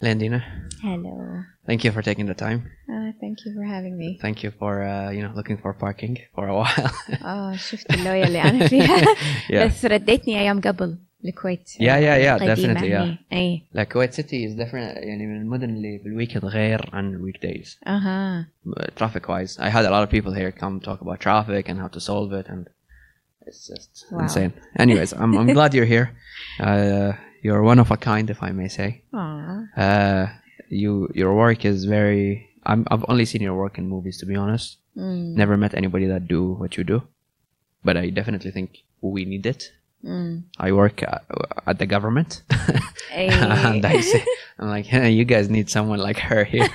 Landina. Hello. Thank you for taking the time. Thank you for having me. Thank you for looking for parking for a while. شفت اللوية اللي أنا فيها. Yeah. بس رديتني أيام قبل الكويت. Yeah, definitely. يعني. أي. Like Kuwait City is different. يعني من المدن اللي بالweekend غير عن weekdays. Traffic wise, I had a lot of people here come talk about traffic and how to solve it, and it's just insane. Anyways, I'm glad you're here. You're one of a kind, if I may say. Your work is very. I've only seen your work in movies, to be honest. Never met anybody that do what you do, but I definitely think we need it. I work at the government, and I'm like, hey, you guys need someone like her here.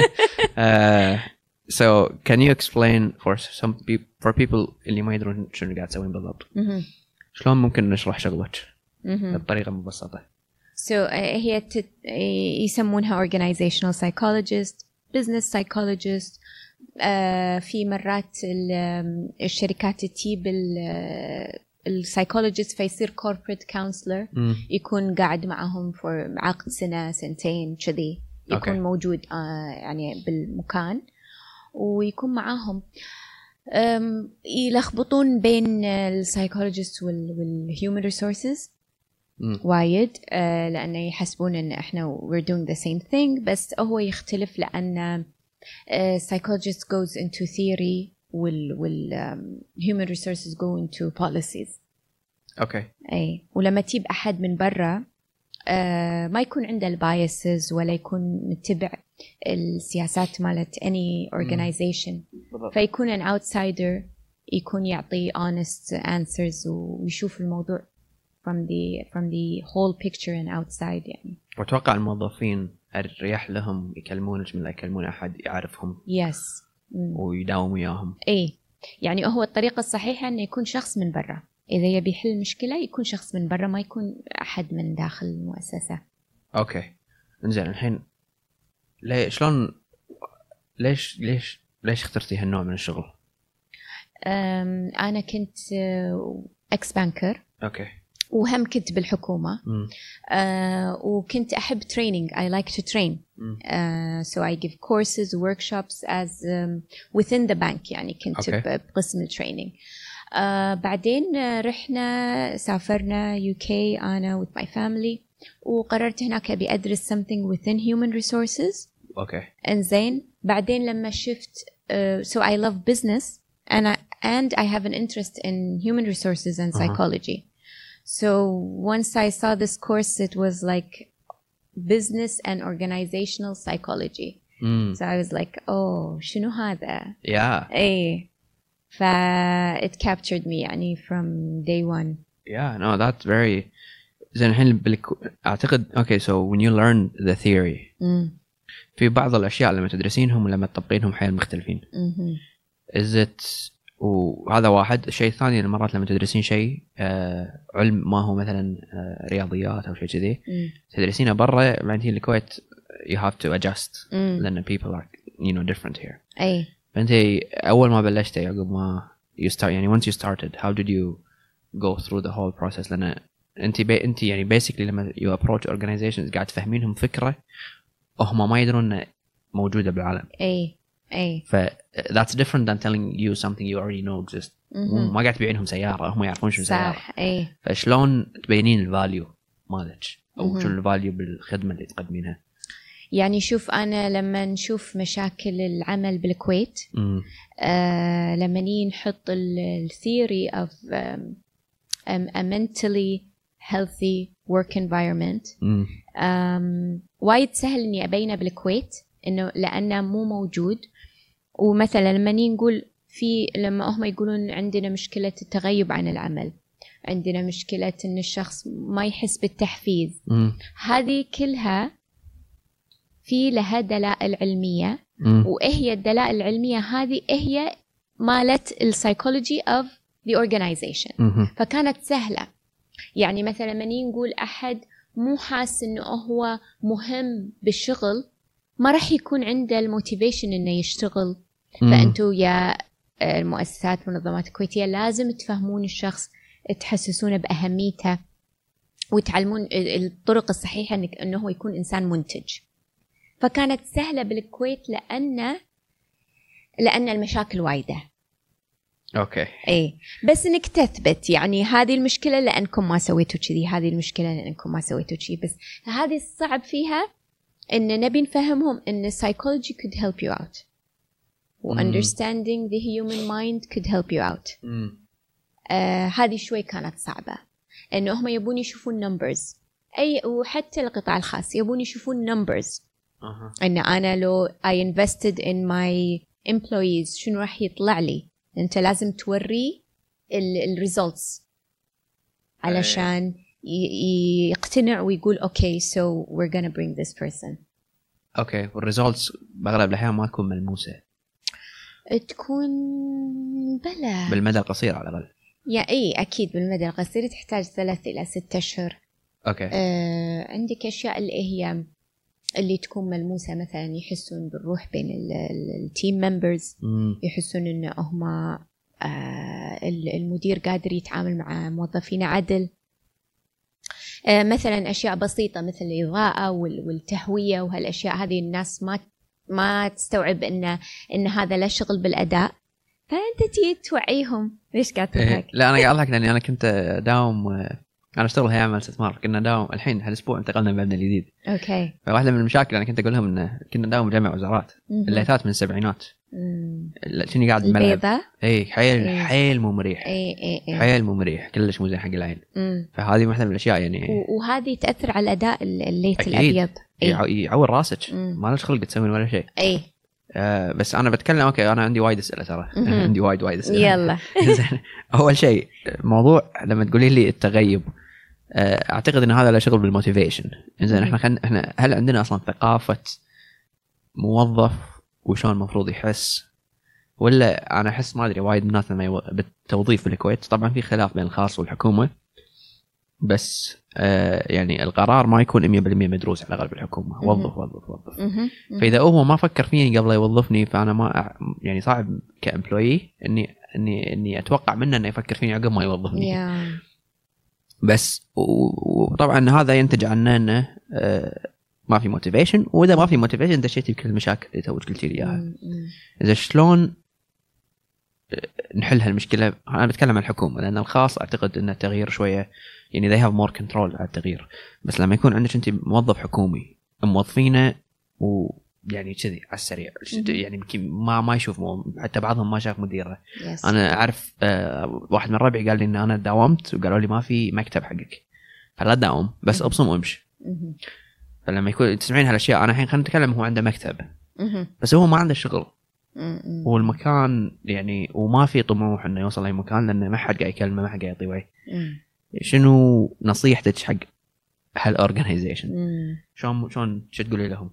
So, can you explain for people اللي ما يدرون شنو قاعد تسوين بالضبط؟ شلون ممكن نشرح شغلك بطريقة مبسطة؟ So هي يسمونها organizational psychologist, business psychologist. في مرات الشركات تجيب السايكولوجيست فيصير corporate counselor. يكون قاعد معهم for عقد سنة سنتين كذي، يكون موجود يعني بالمكان ويكون معاهم. يلخبطون بين السايكولوجيست والhuman resources وايد، لأنه يحسبون إن إحنا we're doing the same thing، بس هو يختلف لأن psychologist goes into theory human resources go into policies. Okay. أي ولما تجيب أحد من برا ما يكون عنده البايسز ولا يكون متبع السياسات مالت any organization، فيكون an outsider، يكون يعطي honest answers ويشوف الموضوع from the whole picture and outside يعني. وأتوقع الموظفين الرياح لهم يكلمونك من لا يكلمون أحد يعرفهم. Yes. ويداوم وياهم. إيه يعني هو الطريقة الصحيحة إنه يكون شخص من برا، إذا يبي يحل مشكلة يكون شخص من برا، ما يكون أحد من داخل المؤسسة. أوكي. إنزين الحين ليش اخترتي هالنوع من الشغل؟ أنا كنت ex banker. أوكي. وهم كنت بالحكومة. وكنت أحب training. I like to train. So I give courses, workshops as within the bank. يعني كنت بقسم الtraining. بعدين سافرنا UK أنا with my family، وقررت هناك أبي أدرس something within human resources. Okay. إنزين بعدين لما شفت so I love business and I have an interest in human resources and psychology. So once I saw this course, it was like business and organizational psychology. So I was like, oh, شنو هذا? Yeah. إيه. It captured me يعني from day one. Yeah, no, that's very. زين الحين أعتقد okay, so when you learn the theory, في بعض الأشياء لما تدرسينهم ولما تطبقينهم حيل مختلفين. Is it وهذا واحد. الشيء الثاني المرات لما تدرسين شيء علم ما هو مثلا رياضيات أو شيء كذي تدرسينه برا، بعدين الكويت you have to adjust لأن people are different here. أي. فأنت أول ما بلشتي عقب ما you start يعني once you started how did you go through the whole process؟ لأن أنت يعني basically لما you approach organizations قاعد تفهمينهم فكرة هم ما يدرون موجودة بالعالم. أي. that's different than telling you something you already know exists. ما قاعد تبيعينهم سيارة هم يعرفون شو سيارة. صح. أي. فشلون تبينين الفاليو مالك أو شو الفاليو بالخدمة اللي تقدمينها؟ يعني شوف أنا لما نشوف مشاكل العمل بالكويت لما نحط الثيوري of a mentally healthy work environment وايد سهل إني أبينه بالكويت إنه لأنه مو موجود. ومثلا لما نقول لما هم يقولون عندنا مشكلة التغيب عن العمل، عندنا مشكلة إن الشخص ما يحس بالتحفيز، هذه كلها في لها دلائل علمية. وإيه الدلائل العلمية هذه؟ هي مالت السايكولوجي of the organization. فكانت سهلة. يعني مثلا لما نقول أحد مو حاس إنه هو مهم بالشغل، ما راح يكون عنده الموتيفيشن إنه يشتغل. فأنتوا يا المؤسسات والمنظمات الكويتية لازم تفهمون الشخص، تحسسونه بأهميته، وتعلمون الطرق الصحيحة إنه هو يكون إنسان منتج. فكانت سهلة بالكويت لأن المشاكل وايدة. اوكي. ايه بس انك تثبت يعني هذه المشكلة لأنكم ما سويتوا كذي، هذه المشكلة لأنكم ما سويتوا كذي. بس هذه الصعب فيها إن نبي نفهمهم إن psychology could help you out و understanding the human mind could help you out. هذه شوي كانت صعبة، إنه هم يبون يشوفون numbers. وحتى القطاع الخاص يبون يشوفون numbers. إن أنا لو I invested in my employees شنو راح يطلع لي. أنت لازم توري results علشان يقتنع ويقول okay so we're gonna bring this person. اوكي. والريزولتس بأغلب الأحيان ما تكون ملموسة، تكون بلا بالمدى القصير على الأقل. اي اكيد بالمدى القصير تحتاج 3 إلى 6 أشهر. اوكي. عندك اشياء اللي تكون ملموسه، مثلا يحسون بالروح بين التيم ممبرز، يحسون ان هم المدير قادر يتعامل مع موظفين عدل. مثلا اشياء بسيطه مثل الاضاءه والتهويه وهالاشياء هذه الناس ما تستوعب ان هذا له شغل بالاداء، فانت تيجي توعيهم. ليش قاعد تضحك؟ لا انا قاعد اضحك لاني انا كنت داوم، انا اشتغل هيئه عمل استثمار، كنا داوم الحين هالاسبوع انتقلنا من المبنى الجديد. اوكي. فواحده من المشاكل انا كنت اقول لهم ان كنا داوم جمع وزارات، الليتات من السبعينات. شنو قاعد بالملعب؟ اي حيل مو مريح. اي حيل مو مريح، كلش مو زين حق العين. فهذه واحده من الاشياء يعني، وهذه تاثر على اداء الليت الابيض. يعور راسك، ما لك خلق تسوين ولا شيء. اي بس انا بتكلم اوكي، انا عندي وايد اسئله ترى. عندي وايد اسئله. يلا. اول شيء موضوع لما تقولي لي التغيب، اعتقد ان هذا له شغل بالموتيفيشن. زين احنا هل عندنا اصلا ثقافه موظف وشون المفروض يحس؟ ولا انا احس ما ادري وايد الناس لما بالتوظيف في الكويت طبعا في خلاف بين الخاص والحكومه، بس يعني القرار ما يكون 100% مدروس على الاغلب الحكومه. وظف. فاذا هو ما فكر فيني قبل يوظفني، فانا ما يعني صعب كامبلوي اني اتوقع منه انه يفكر فيني عقب ما يوظفني. بس وطبعا هذا ينتج عنه انه ما في موتيفيشن، واذا ما في موتيفيشن دشيتي بكل المشاكل اللي توك قلتي لي اياها. اذا شلون نحل هالمشكله؟ انا بتكلم عن الحكومه، لان الخاص اعتقد ان التغيير شويه يعني they have more control على التغيير. بس لما يكون عندك انت موظف حكومي موظفينه ويعني كذي على السريع، يعني يمكن ما يشوف حتى بعضهم ما شاف مديره. انا اعرف واحد من ربعي قال لي ان انا داومت وقالوا لي ما في مكتب حقك، فلا داوم بس ابصم وامشي. فلما يكون تسمعين هالاشياء، انا الحين خلينا نتكلم، هو عنده مكتب بس هو ما عنده شغل، والمكان يعني وما في طموح انه يوصل لاي مكان، لانه ما حد قاعد يكلمه، ما حد قاعد يعطيه وعي. شنو نصيحتك حق هالاورجنايزيشن؟ شلون شو تقولي لهم؟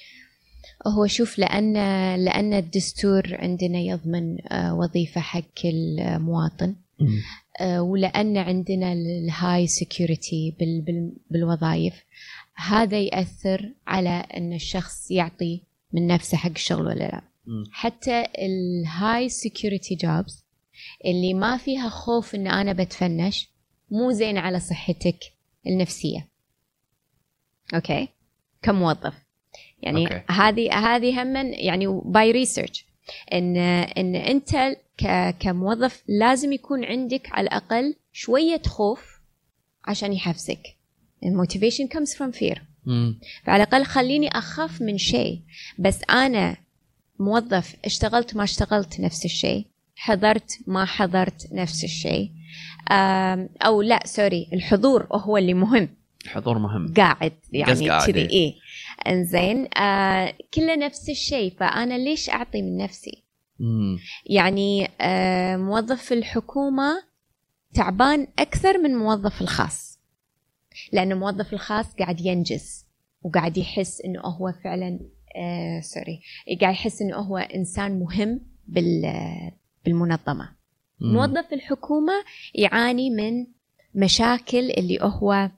هو شوف، لان الدستور عندنا يضمن وظيفه حق المواطن، ولان عندنا الهاي سيكيورتي بالوظائف، هذا يأثر على ان الشخص يعطي من نفسه حق الشغل ولا لا. حتى الهاي سيكيورتي جوبز اللي ما فيها خوف ان انا بتفنش مو زين على صحتك النفسية. اوكي كموظف يعني هذه هم يعني باي ريسيرش ان انت كموظف لازم يكون عندك على الاقل شوية خوف عشان يحفزك. الموتيفيشن comes from fear. فعلى الاقل خليني اخاف من شيء، بس انا موظف اشتغلت ما اشتغلت نفس الشيء، حضرت ما حضرت نفس الشيء، او لا سوري، الحضور هو اللي مهم. الحضور مهم، قاعد يعني كذي ايه انزين، كله نفس الشيء، فانا ليش اعطي من نفسي؟ يعني موظف الحكومة تعبان اكثر من موظف الخاص، لأن الموظف الخاص قاعد ينجز وقاعد يحس إنه هو فعلاً قاعد يحس إنه هو إنسان مهم بالمنظمة. موظف الحكومة يعاني من مشاكل اللي هو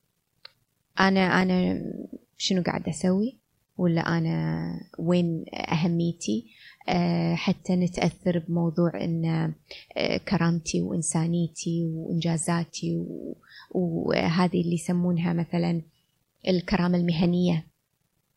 أنا شنو قاعد أسوي، ولا أنا وين أهميتي. حتى نتأثر بموضوع إن كرامتي وإنسانيتي وإنجازاتي وهذه اللي يسمونها مثلا الكرامة المهنية.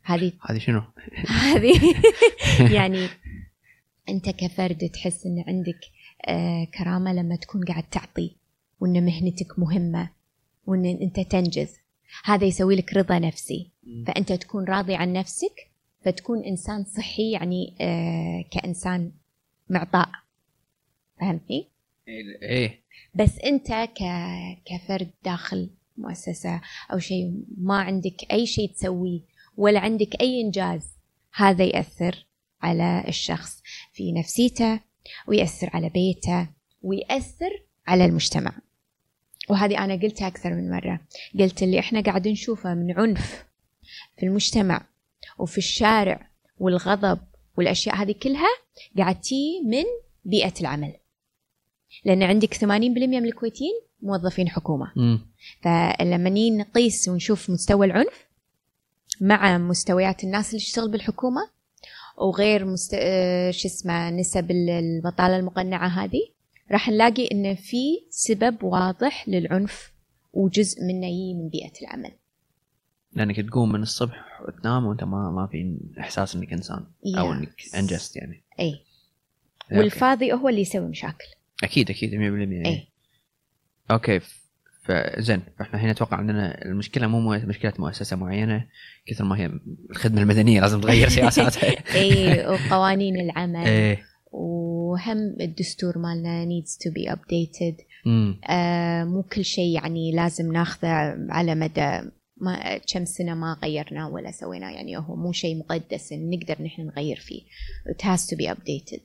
هذه شنو؟ هذه يعني أنت كفرد تحس إن عندك كرامة لما تكون قاعد تعطي، وإن مهنتك مهمة، وإن أنت تنجز. هذا يسوي لك رضا نفسي، فأنت تكون راضي عن نفسك، فتكون إنسان صحي، يعني كإنسان معطاء. فهمتني؟ إيه. بس أنت كفرد داخل مؤسسة أو شيء، ما عندك أي شيء تسويه ولا عندك أي إنجاز، هذا يأثر على الشخص في نفسيته، ويأثر على بيته، ويأثر على المجتمع. وهذه أنا قلتها أكثر من مرة، قلت اللي إحنا قاعد نشوفه من عنف في المجتمع وفي الشارع والغضب والأشياء هذه كلها قاعد تي من بيئة العمل، لأن عندك 80% من الكويتيين موظفين حكومة. فلما نقيس ونشوف مستوى العنف مع مستويات الناس اللي تشتغل بالحكومة وغير نسب البطالة المقنعة هذه، راح نلاقي إن في سبب واضح للعنف، وجزء منه يجي من بيئة العمل. لأنك تقوم من الصبح وتنام وأنت ما في إحساس إنك إنسان أو إنك أنجزت يعني. أي. والفاضي هو اللي يسوي مشاكل. أكيد 100%. أي. أوكي. فزين، فإحنا هنا أتوقع عندنا المشكلة مو مشكلة مؤسسة معينة كثر ما هي الخدمة المدنية لازم تغير سياساتها. أي، وقوانين العمل. إيه. وهم الدستور مالنا needs to be updated. مو كل شيء يعني لازم ناخذه على مدى ما كم سنة ما غيرنا ولا سوينا، يعني هو مو شيء مقدس إن نقدر نحن نغير فيه. it has to be updated.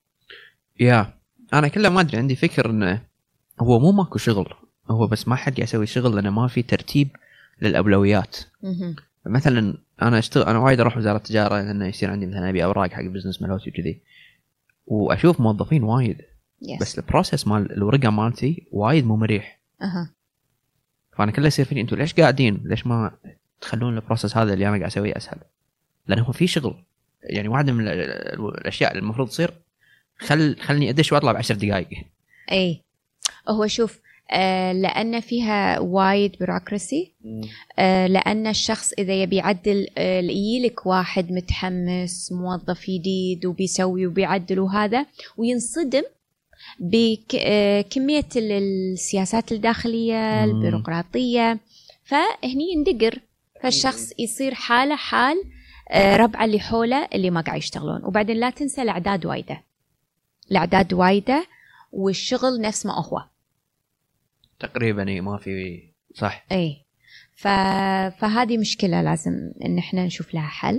أنا كله ما أدري، عندي فكر إنه هو مو ماكو شغل، هو بس ما حد يسوي شغل لأنه ما في ترتيب للأولويات. مثلا أنا وايد أروح وزارة التجارة لأنه يصير عندي مثلا أبي أوراق حق بزنس ملوتي وكذي، وأشوف موظفين وايد بس البروسيس مال الورقة مالتي وايد مو مريح. فأنا كله يصير فيني أنتوا ليش قاعدين، ليش ما تخلون البروسيس هذا اللي أنا قاعد أسويه أسهل؟ لأنه هو في شغل. يعني واحدة من الأشياء اللي المفروض تصير خلني أدش وأطلع ب10 دقائق. أي هو شوف، لأن فيها وايد بيروقراسي، لأن الشخص إذا يبي يعدل يجيلك واحد متحمس موظف جديد وبيسوي وبيعدل وهذا، وينصدم بكمية السياسات الداخلية البيروقراطية، فهني يندقر، فالشخص يصير حاله حال ربع اللي حوله اللي ما قاعد يشتغلون. وبعدين لا تنسى الأعداد وايدة والشغل نفس ما هو تقريبا ما في صح. اي. فهذه مشكلة لازم ان احنا نشوف لها حل.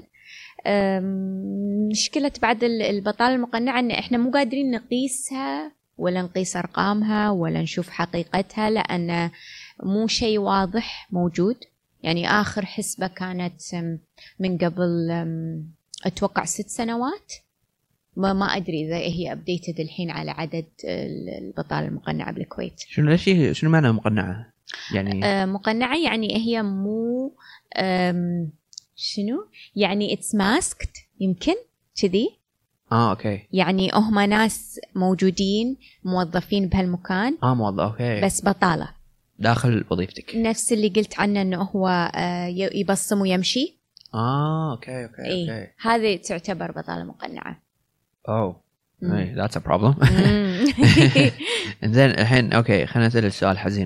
مشكلة بعد البطالة المقنعة ان احنا مو قادرين نقيسها ولا نقيس ارقامها ولا نشوف حقيقتها، لان مو شيء واضح موجود. يعني اخر حسبة كانت من قبل اتوقع 6 سنوات، ما أدري إذا هي أبديتد الحين على عدد البطالة المقنعة بالكويت. شنو معنى مقنعة؟ يعني مقنعة يعني هي مو شنو يعني it's masked، يمكن كذي. أوكي. يعني هم ناس موجودين موظفين بهالمكان، موظف أوكي، بس بطالة داخل وظيفتك، نفس اللي قلت عنه إنه هو يبصم ويمشي. أوكي. إيه. هذه تعتبر بطالة مقنعة. that's a problem. زين الحين اوكي، خلينا نسأل السؤال حزين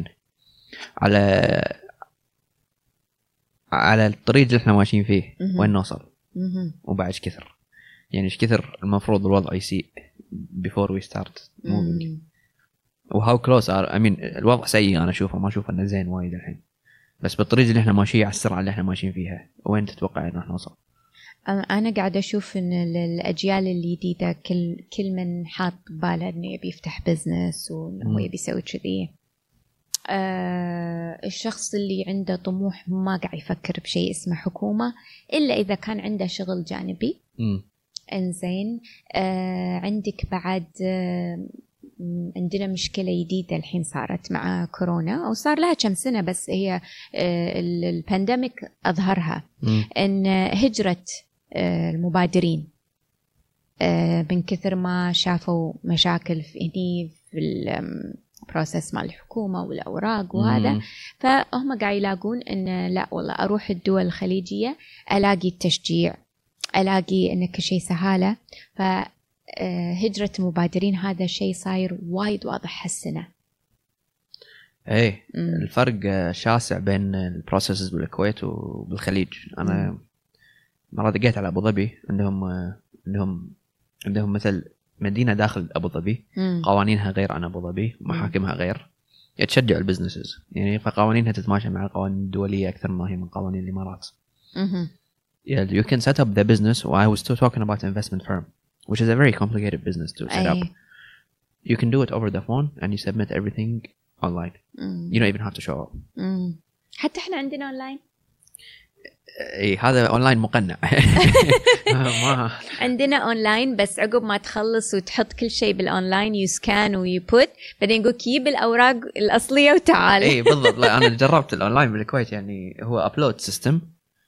على الطريق اللي احنا ماشيين فيه، وين نوصل وبعد ايش كثر، يعني ايش كثر المفروض الوضع يسيء before we start moving وهاو close الوضع سيء، انا اشوفه ما اشوف انه زين وايد الحين، بس بالطريق اللي احنا ماشيين على السرعة اللي احنا ماشيين فيها وين تتوقع انه نوصل؟ أنا قاعدة أشوف إن الأجيال الجديدة كل من حاط باله إنه يبي يفتح بزنس وإنه يبي يسوي كذي. الشخص اللي عنده طموح ما قاعد يفكر بشيء اسمه حكومة إلا إذا كان عنده شغل جانبي. إنزين. عندك بعد عندنا مشكلة جديدة الحين صارت مع كورونا، أو صار لها كم سنة، بس هي البانديميك أظهرها، إن هجرة المبادرين من كثر ما شافوا مشاكل في بروسس مع الحكومة والأوراق وهذا. فهم قاعد يلاقون إن لا والله أروح الدول الخليجية ألاقي التشجيع، ألاقي إن كل شيء سهالة. فهجرة المبادرين هذا شيء صاير وايد واضح هالسنة. ايه الفرق شاسع بين البروسيسز بالكويت وبالخليج. انا مرة دقيت على ابو ظبي، عندهم مثل مدينة داخل ابو ظبي، قوانينها غير عن ابو ظبي، محاكمها غير، تشجع البزنسز يعني، فقوانينها تتماشى مع القوانين الدولية اكثر ما هي من قوانين الامارات. You can set up the business. I was still talking about investment firm, which is a very complicated business to set up. You can do it over the phone and you submit everything online. You don't even have to show up. حتى احنا عندنا اونلاين. اي هذا اونلاين مقنع. ما عندنا اونلاين، بس عقب ما تخلص وتحط كل شيء بالاونلاين يسكان ويبوت، بعدين يقول كيب الاوراق الاصليه وتعال. اي بالضبط. لا انا جربت الاونلاين بالكويت، يعني هو ابلود سيستم،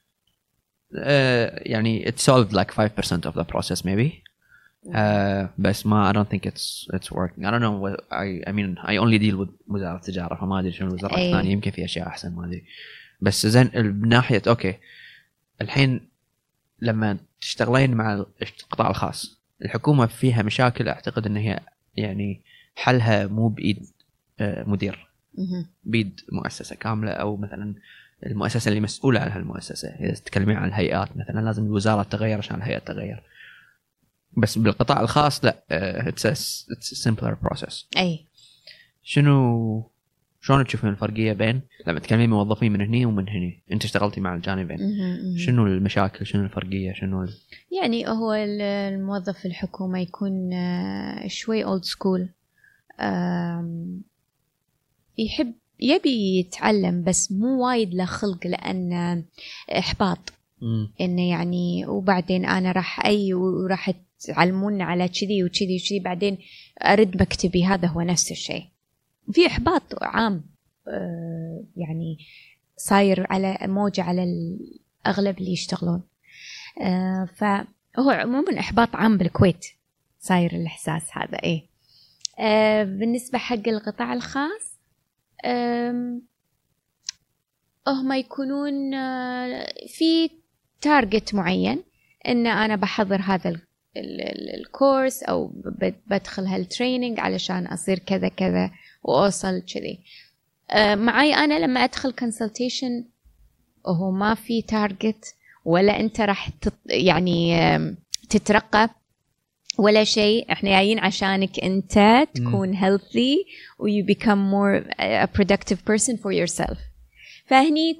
يعني it solved like 5% of the process maybe. بس ما I don't think it's working. I don't know what I mean I only deal with وزارة التجارة، فما أدري شنو الوزارات الثانية، يمكن في أشياء أحسن ما أدري. بس زين بناحية أوكي الحين لما تشتغلين مع القطاع الخاص، الحكومة فيها مشاكل أعتقد إن هي يعني حلها مو بإيد مدير، بيد مؤسسة كاملة، أو مثلا المؤسسة اللي مسؤولة عن هالمؤسسة. إذا تتكلمين عن الهيئات مثلا لازم الوزارة تغير عشان الهيئة تغير. بس بالقطاع الخاص لا، it's a simpler process. أي شلون تشوفين الفرقية بين لما تكلمين موظفين من هني ومن هني؟ أنت اشتغلتي مع الجانبين، شنو المشاكل، شنو الفرقية، شنو يعني هو الموظف في الحكومة يكون شوي old school، يبي يتعلم بس مو وايد له خلق، لأن إحباط إنه يعني وبعدين أنا وراح تعلمون على كذي وكذي وكذي، بعدين أرد مكتبي. هذا هو نفس الشيء، في إحباط عام يعني صاير على موجة على الأغلب اللي يشتغلون. فهو عموما إحباط عام بالكويت صاير الإحساس هذا. إيه بالنسبة حق القطاع الخاص، هم يكونون في تارجت معين، إن أنا بحضر هذا الكورس أو بدخل هالتريننج علشان أصير كذا كذا وأوصل كذي. معي أنا لما أدخل كونسلتيشن وهو ما في تارجت، ولا أنت راح يعني تترقى ولا شيء. إحنا جايين عشانك أنت تكون healthy و you become more a productive person for yourself. فهني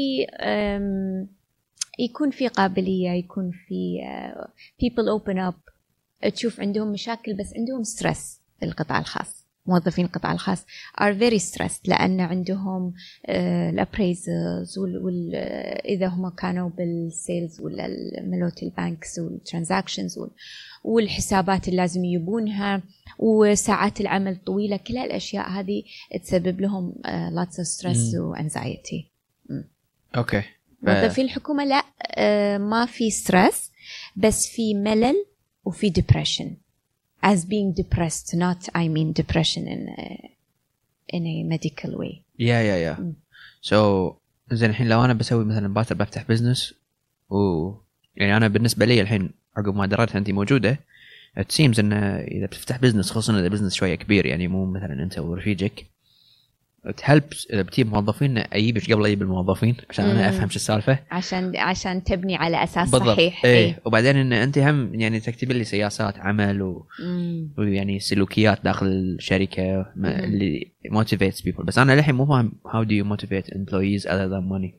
يكون في قابلية، يكون في people open up، تشوف عندهم مشاكل بس عندهم stress. القطاع الخاص، موظفين القطاع الخاص are very stressed، لأن عندهم الappraisals إذا هم كانوا بالسيلز ولا الملوت البانكس والترانزاكشنز والحسابات اللي لازم يجيبونها وساعات العمل طويلة، كل الأشياء هذه تسبب لهم lots of stress وanxiety. أوكي. موظفين الحكومة لا، ما في stress، بس في ملل وفي depression. As being depressed, not I mean depression in a medical way. Yeah. So زين الحين لو أنا بسوي مثلا بفتح بزنس، يعني أنا بالنسبة لي الحين عقب ما دريت أنتي موجودة، it seems إن إذا بتفتح بزنس، خصوصا إذا بزنس شوية كبير، يعني مو مثلا أنت ورفيجك، تهلبس إذا بتجيب موظفين أجيبش قبل أجيب الموظفين عشان أنا أفهم شو السالفة، عشان تبني على أساس بالضبط. صحيح. إيه. وبعدين إن أنت هم يعني تكتب لي سياسات عمل ويعني سلوكيات داخل الشركة اللي motivates people. بس أنا للحين مو فاهم how do you motivate employees other than money.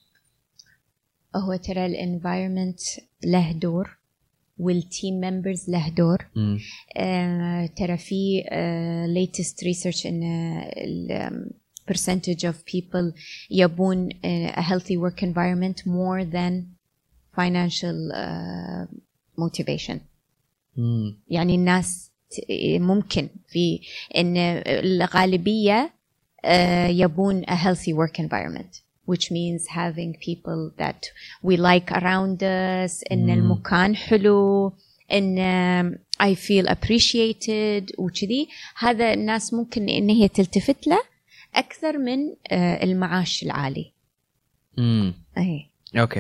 هو ترى الانفايرمنت له دور والتيم ممبرز له دور. ترى في latest research إن percentage of people يبون a healthy work environment more than financial motivation. يعني الناس ممكن في إن الغالبية يبون a healthy work environment, which means having people that we like around us, إن المكان حلو, إن I feel appreciated وكذي، هذا الناس ممكن إن هي تلتفت له أكثر من المعاش العالي. أي أوكي.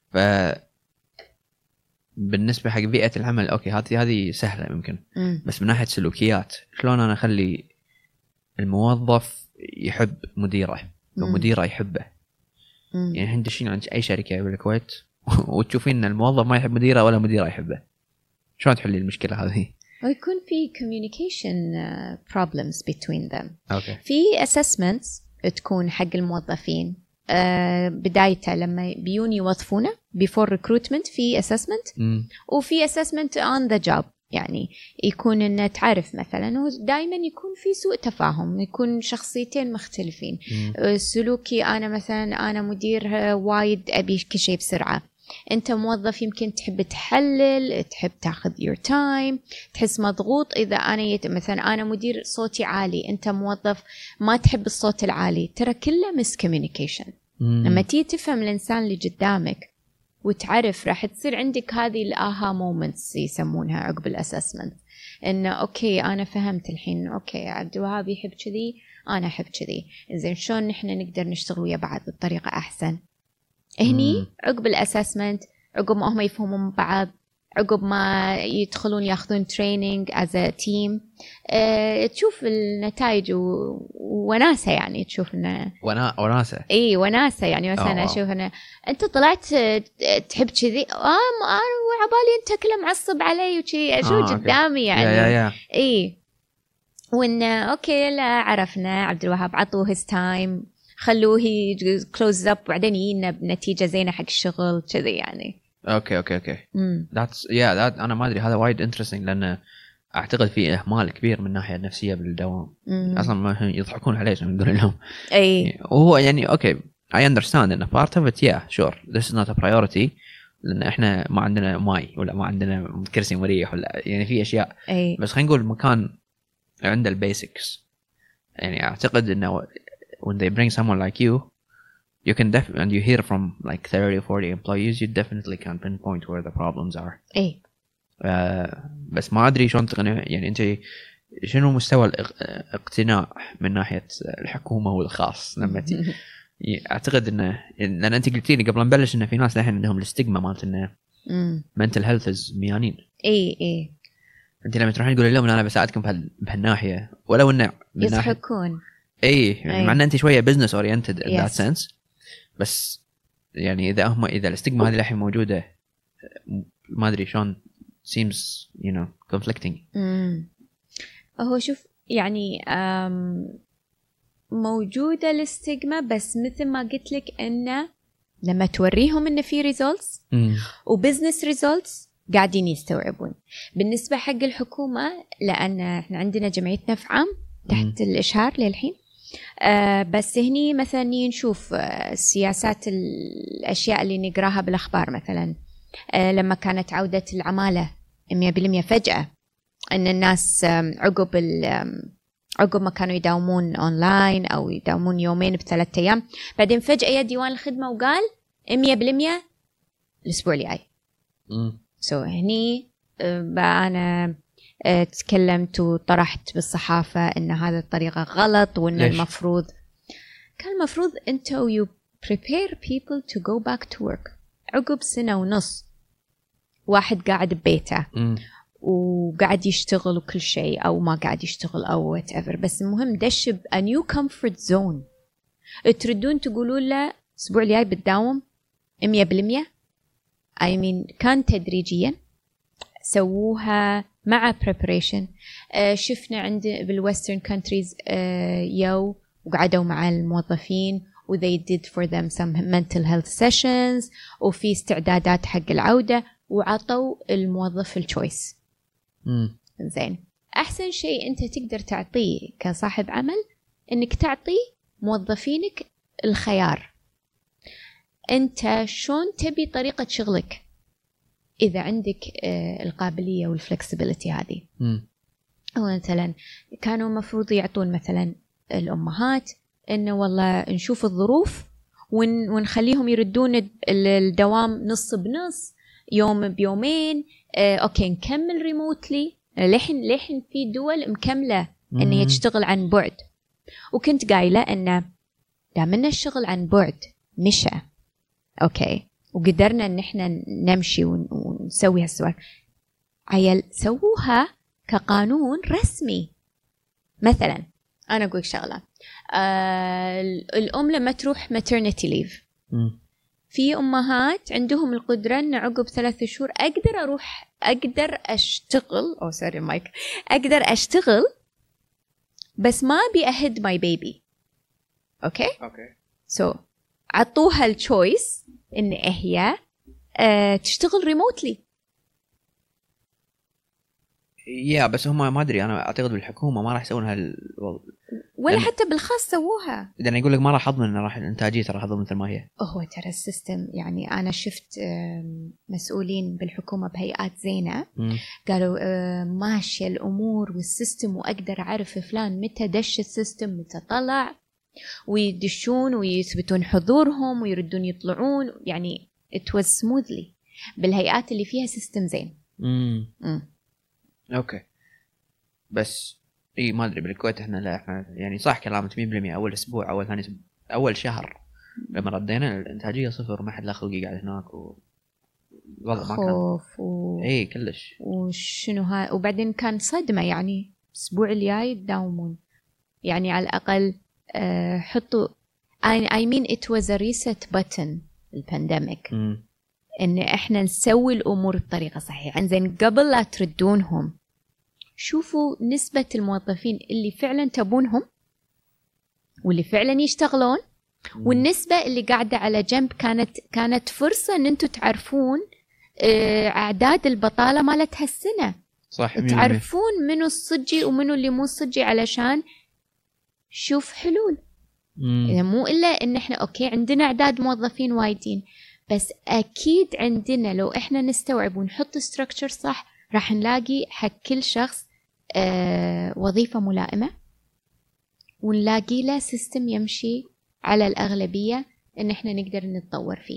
بالنسبة حق بيئة العمل أوكي هذه سهلة يمكن. بس من ناحية سلوكيات، شلون أنا أخلي الموظف يحب مديره ومديره يحبه؟ يعني احنا دشين عند أي شركة بالكويت وتشوفين إن الموظف ما يحب مديره ولا مديره يحبه، شلون تحلي المشكلة هذه؟ ويكون في communication problems between them. أوكي. في assessments تكون حق الموظفين بدايته لما بيون يوظفونه before recruitment، في assessment وفي assessment on the job. يعني يكون إنه تعرف مثلا، ودائما يكون في سوء تفاهم، يكون شخصيتين مختلفين. سلوكي أنا مثلا أنا مدير وايد أبي كل شيء بسرعة، أنت موظف يمكن تحب تحلل، تحب تاخذ your time، تحس مضغوط. إذا أنا مثلا أنا مدير صوتي عالي، أنت موظف ما تحب الصوت العالي، ترى كله miscommunication. لما تيجي تفهم الإنسان اللي قدامك وتعرف، راح تصير عندك هذه الآها مومنتس يسمونها عقب الأسسمنت، إنه أوكي أنا فهمت الحين، أوكي عبد الوهاب يحب كذي، أنا أحب كذي، إنزين شلون نحن نقدر نشتغل ويا بعض بطريقة أحسن. هني عقب الأسسمنت، عقب ما هم يفهمون بعض، عقب ما يدخلون ياخذون تريننج as a team، تشوف النتائج وناسة. يعني تشوف إنه وناسة. إيه وناسة. يعني مثلا أشوف إنه أنت طلعت تحب كذي، أنا وعبالي أنت كله معصب علي وكذي، أشوف قدامي يعني. إيه وإنه أوكي لا عرفنا عبد الوهاب، عطوه his time، خلوه close up، وبعدين يجينا بنتيجة زينة حق الشغل كذي يعني. اوكي that's انا ما ادري، هذا وايد interesting، لان اعتقد في اهمال كبير من الناحيه النفسيه بالدوام. اصلا ما يضحكون عليه عشان نقول لهم اي وهو يعني اوكي I understand ان part of it sure this is not a priority، لان احنا ما عندنا ماي ولا ما عندنا كرسي مريح ولا يعني في اشياء بس خلينا نقول مكان عنده البيسكس. يعني اعتقد انه when they bring someone like you can and you hear from like 30 or 40 employees, you definitely can pinpoint where the problems are. اي بس ما ادري شلون تقنع. يعني انت شنو مستوى الاقتناع من ناحيه الحكومه والخاص لما اعتقد انه لان انت قلتي لي قبل ما نبلش انه في ناس الحين عندهم الاستجما مالت انه mental health is ميانين. اي انت لما تروحين تقولي لهم انا بساعدكم بهالناحيه، ولو انه يضحكون. يعني مع ان انت شويه business oriented in that sense، بس يعني اذا الاستجما هذه الحين موجوده، ما ادري شلون seems conflicting. هو شوف يعني موجوده الاستجما، بس مثل ما قلت لك انه لما توريهم انه في results وبزنس results قاعدين يستوعبون. بالنسبه حق الحكومه، لان احنا عندنا جمعيه نفع عام تحت الاشهار للحين، بس هني مثلا نشوف سياسات الأشياء اللي نقراها بالأخبار. مثلا لما كانت عودة العمالة 100% فجأة، أن الناس عقب ما كانوا يداومون أونلاين أو يداومون يومين ب3 أيام، بعدين فجأة يا ديوان الخدمة وقال 100% الأسبوع الجاي. هني أنا تكلمت وطرحت بالصحافة إن هذا الطريقة غلط، وإن المفروض أنتوا you prepare people to go back to work. عقب 1.5 سنة واحد قاعد ببيته وقاعد يشتغل وكل شيء، أو ما قاعد يشتغل أو whatever، بس المهم دش a new comfort zone. تردون تقولوا له الأسبوع الجاي بتداوم 100%. كان تدريجيا سووها مع preparation. شفنا عند بالwestern countries يو وقعدوا مع الموظفين و they did for them some mental health sessions، وفي استعدادات حق العودة، وعطوا الموظف الchoice. زين، أحسن شيء أنت تقدر تعطيه كصاحب عمل إنك تعطي موظفينك الخيار. أنت شون تبي طريقة شغلك، إذا عندك القابلية والفلكسبيليتي هذه. أو مثلا كانوا مفروض يعطون مثلا الأمهات إنه والله نشوف الظروف ونخليهم يردون الدوام نص بنص، يوم بيومين، اوكي نكمل ريموتلي. لحين في دول مكمله ان هي تشتغل عن بعد. وكنت قايله ان دامنا الشغل عن بعد مشى اوكي وقدرنا ان احنا نمشي ونسوي هالسوالف، عيل سووها كقانون رسمي. مثلا انا اقول شغله، الام لما تروح maternity leave، في امهات عندهم القدره ان عقب 3 شهور اقدر اشتغل اقدر اشتغل بس ما ابي اهد ماي بيبي. اوكي سو عطوها التشويس ان هي تشتغل ريموتلي. بس هم ما ادري، انا اعتقد بالحكومه ما راح يسوون ولا حتى بالخاص سووها، لان يقول لك ما راح اضمن، راح الانتاجيه راح تظل مثل ما هي. هو ترى السيستم يعني انا شفت مسؤولين بالحكومه بهيئات زينه قالوا ماشيه الامور والسيستم، واقدر اعرف فلان متى دش السيستم متى طلع، ويدشون ويثبتون حضورهم ويردون يطلعون، يعني it was smoothly بالهيئات اللي فيها سيستم زين. اوكي بس ما ادري بالكويت احنا لا، احنا يعني صح كلامك 100%. اول اسبوع اول ثاني اسبوع اول شهر لما ردينا الانتاجيه صفر، ما حد لا خلقي قاعد هناك والله ما كان كلش. وشنو هاي، وبعدين كان صدمه يعني الاسبوع الجاي تداومون، يعني على الاقل حطوا I mean it was a reset button البانديميك ان احنا نسوي الامور بطريقه صحيحه. زين قبل لا تردونهم شوفوا نسبه الموظفين اللي فعلا تبونهم واللي فعلا يشتغلون، والنسبه اللي قاعده على جنب كانت فرصه ان انتم تعرفون اعداد البطاله مالت هالسنه، صح تعرفون منو الصجي ومنو اللي مو الصجي علشان شوف حلول. إذا مو إلا إن إحنا أوكي عندنا أعداد موظفين وايدين، بس أكيد عندنا لو إحنا نستوعب ونحط structure صح راح نلاقي حق كل شخص وظيفة ملائمة، ونلاقي له سيستم يمشي على الأغلبية إن إحنا نقدر نتطور فيه.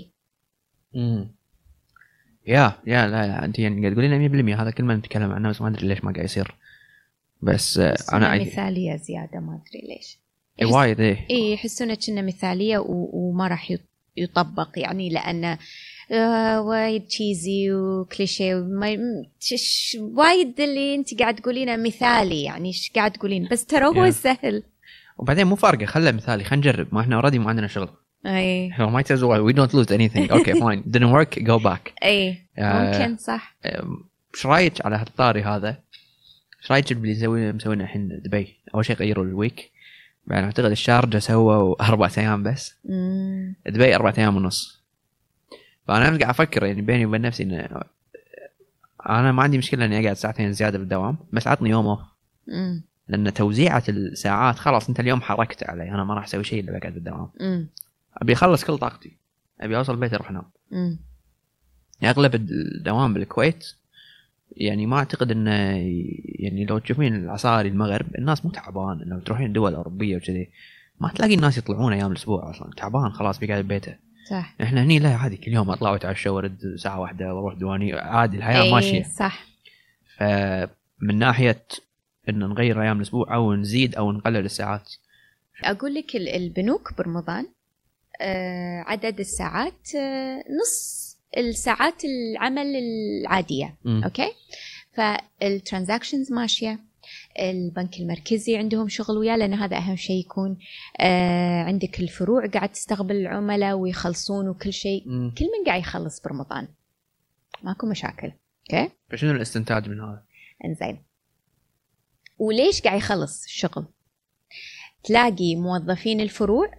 لا أنت يعني قاعد تقولين 100% هذا كل ما نتكلم عنه، بس ما أدري ليش ما قاعد يصير. بس أنا مثالية زيادة ما أدري ليش. وايد يحسونه كأنه مثالية وما راح يطبق، يعني لأنه وايد تشيزي وكليشيه وايد اللي انت قاعد تقولينه مثالي، يعني ايش قاعد تقولين؟ بس ترى هو سهل. وبعدين مو فارقه، خله مثالي، خلينا نجرب، ما احنا اوريدي ما عندنا شغل. احنا ما يتزوج we don't lose anything. okay fine didn't work go back. ممكن صح. ايش رايك على هالطاري هذا؟ ايش رايك اللي مسوينا الحين دبي؟ اول شيء غيروا الويك، بعدين اعتقد الشارجة سووا 4 أيام بس، دبي 4 أيام ونص. فانا قاعد افكر يعني بيني وبين نفسي ان انا ما عندي مشكله اني اقعد 2 ساعة زياده بالدوام، بس عطني يوم اوف، لان توزيعه الساعات خلاص انت اليوم حركت علي، انا ما راح اسوي شيء الا بقعد بالدوام. ابي اخلص كل طاقتي، ابي اوصل البيت اروح انام. اغلب الدوام بالكويت يعني ما اعتقد انه يعني لو تشوفين العصاري المغرب الناس مو تعبان، لو تروحين دول اوروبيه وكذي ما تلاقي الناس يطلعون ايام الاسبوع اصلا، تعبان خلاص بيقعد ببيته. صح. احنا هني لا عادي كل يوم اطلع واتعشى وارد ساعه واحده واروح دواني، عادي الحياه ماشيه. صح. فمن ناحيه ان نغير ايام الاسبوع او نزيد او نقلل الساعات، اقول لك البنوك برمضان عدد الساعات نص الساعات العمل العاديه. اوكي، فالترانزاكشنز ماشيه، البنك المركزي عندهم شغل وياه، لأن هذا أهم شيء يكون عندك الفروع قاعد تستقبل العملاء ويخلصون وكل شيء. كل من قاعد يخلص برمضان ماكو مشاكل. اوكي، فشنو الاستنتاج من هذا؟ انزين، وليش قاعد يخلص الشغل؟ تلاقي موظفين الفروع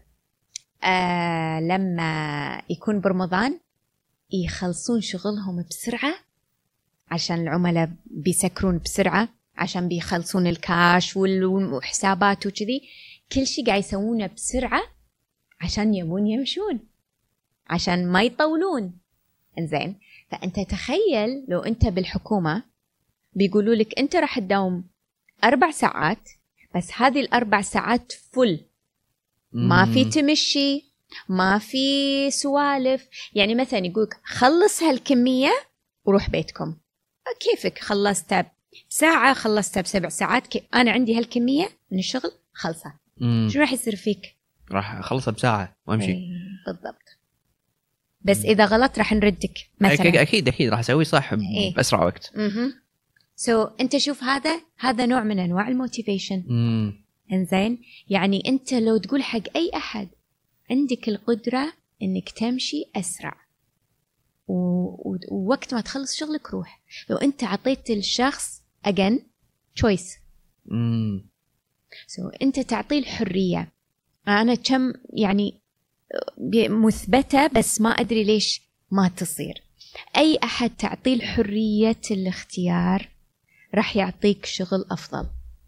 لما يكون برمضان يخلصون شغلهم بسرعة عشان العملاء بيسكرون بسرعة، عشان بيخلصون الكاش والحسابات وكذي، كل شيء قاعد يسوونه بسرعة عشان يبون يمشون، عشان ما يطولون. انزين، فأنت تخيل لو أنت بالحكومة بيقولوا لك أنت راح تداوم 4 ساعات، بس هذه 4 ساعات فل، ما في تمشي، ما في سوالف. يعني مثلا يقولك خلص هالكمية وروح بيتكم. كيفك، خلصت ساعة، خلصت ب7 ساعات، أنا عندي هالكمية من الشغل خلصة. شو راح يصير فيك؟ راح أخلصها بساعة وأمشي. بالضبط. بس إذا غلط راح نردك مثلا. أكيد راح أسوي صح بأسرع وقت. أنت شوف هذا نوع من أنواع الموتيفيشن. إنزين، يعني أنت لو تقول حق أي أحد عندك القدرة إنك تمشي أسرع ووقت ما تخلص شغلك روح، لو أنت عطيت الشخص again choice. أنت تعطيه الحرية. أنا كم يعني مثبتة، بس ما أدري ليش ما تصير. أي أحد تعطيه الحرية الاختيار راح يعطيك شغل أفضل.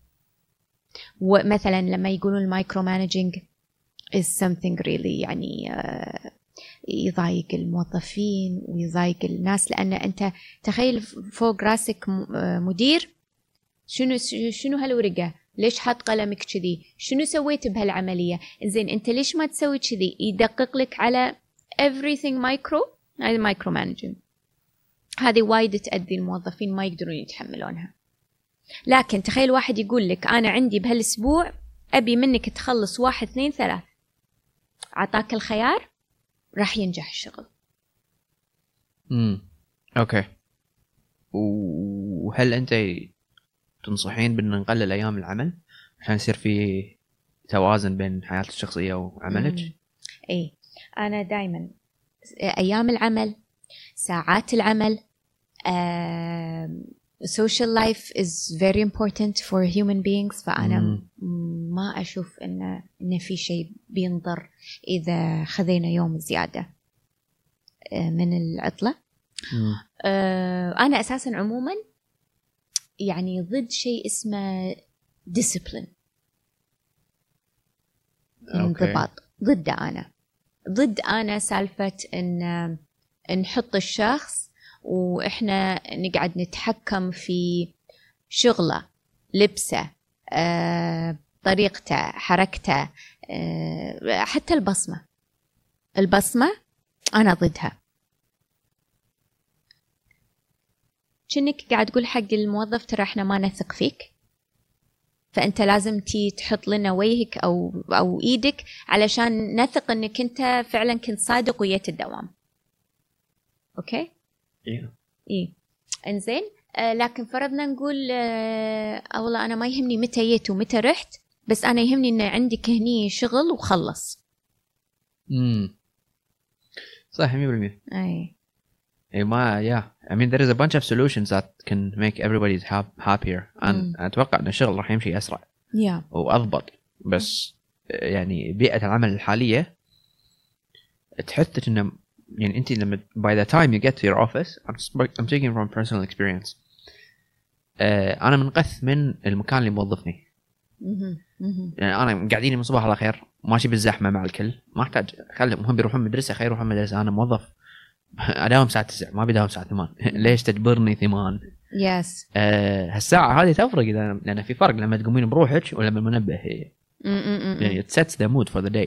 ومثلا لما يقولون المايكرو مانجينج is something really يعني يضايق الموظفين ويضايق الناس، لأن أنت تخيل فوق راسك مدير، شنو هالورقة، ليش حط قلمك كذي، شنو سويت بهالعملية، إنزين أنت ليش ما تسوي كذي، يدقق لك على everything micro. هذا مايكرو مانجينج، هذه وايد تأذي الموظفين، ما يقدرون يتحملونها. لكن تخيل واحد يقول لك أنا عندي بهالأسبوع أبي منك تخلص 1 2 3، عطاك الخيار، راح ينجح الشغل. أوكي. وهل أنت تنصحين بأن نقلل أيام العمل عشان يصير في توازن بين حياتك الشخصية وعملك؟ إيه، أنا دايما أيام العمل، ساعات العمل، social life is very important for human beings. فأنا ما أشوف إن في شيء بينضر إذا خذينا يوم زيادة من العطلة. أنا أساسا عموما يعني ضد شيء اسمه discipline، انضباط. ضد أنا سالفة إن نحط الشخص وإحنا نقعد نتحكم في شغله، لبسه، طريقته، حركته، حتى البصمة أنا ضدها. كأنك قاعد تقول حق الموظف ترى إحنا ما نثق فيك، فأنت لازم تحط لنا وجهك أو إيدك علشان نثق إنك أنت فعلا كنت صادق ويت الدوام. أوكي؟ إيه. إنزين. لكن فرضنا نقول والله أنا ما يهمني متى جيت ومتى رحت، بس أنا يهمني إن عندك هني شغل وخلص. صح 100%. أي ما I mean there is a bunch of solutions that can make everybody happier. أتوقع إن الشغل راح يمشي أسرع وأضبط، بس يعني بيئة العمل الحالية تحثك إنه يعني أنت لما by the time you get to your office, I'm taking from personal experience. أنا منقث من المكان اللي موظفني. يعني أنا قاعدين من صباح على خير ماشي بالزحمة مع الكل، ما أحتاج خلهم هم بيروحون مدرسة، خير يروحون مدرسة. أنا موظف أداوم الساعة 9 ما بيداوم الساعة 8. ليش تجبرني 8؟ هالساعة هذه تفرق لأن في فرق لما تقومين بروحك ولا بالمنبه. يعني it sets the mood for the day.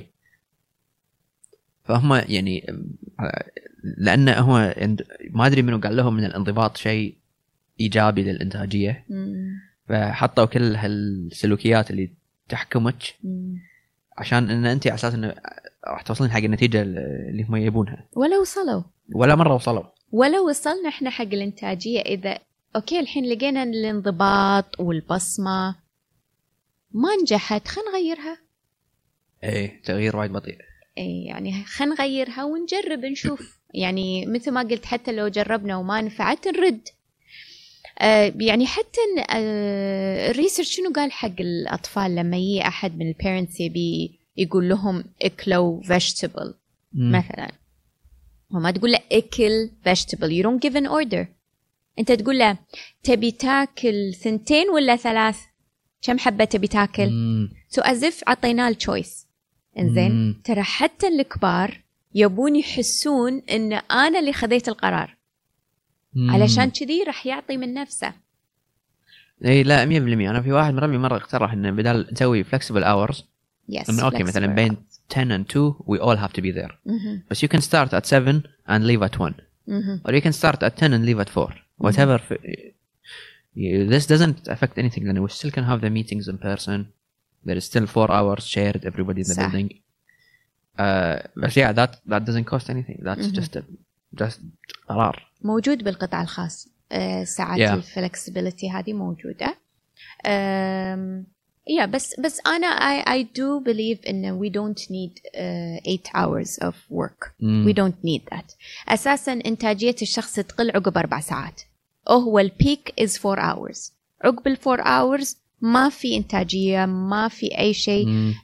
فهم يعني لأن هو ما أدري منو قال لهم من الانضباط شيء إيجابي للإنتاجية، فحطوا كل هالسلوكيات اللي تحكمك عشان إن أنت على أساس إنه راح توصلين حق النتيجة اللي هم يبونها. ولا مرة وصلوا. ولو وصلنا إحنا حق الإنتاجية، إذا أوكي الحين لقينا الانضباط والبصمة ما نجحت، خلينا نغيرها. إيه، تغيير وايد بطيء. إيه، يعني خلينا نغيرها ونجرب نشوف. يعني مثل ما قلت، حتى لو جربنا وما نفعت نرد. يعني حتى الريسيرش شنو قال حق الأطفال لما يجي أحد من البيرنتس يبي يقول لهم اكلوا vegetable مثلا، وما تقول له اكل vegetable. you don't give an order. انت تقول له تبي تاكل 2 ولا 3، كم حبة تبي تاكل. so as if عطينا الchoice. انزين، ترى حتى الكبار يبون يحسون ان انا اللي خذيت القرار، علشان كذي راح يعطي من نفسه. اي لا 100%. انا في واحد مرة اقترح انه بدال نسوي flexible hours، اوكي مثلا بين 10 and 2 we all have to be there. بس you can start at 7 and leave at 1. or you can start at 10 and leave at 4 whatever. This doesn't affect anything, and we still can have the meetings in person. There is still 4 hours shared, everybody in the building. But yeah, that doesn't cost anything. That's just قرار موجود بالقطاع الخاص. ساعات الفلكسبيليتي هذه موجودة. بس أنا I do believe إن we don't need 8 hours of work. We don't need that. أساساً إنتاجية الشخص تقل عقب 4 ساعات. هو البيك is 4 hours. عقب 4 hours ما في إنتاجية، ما في أي شيء.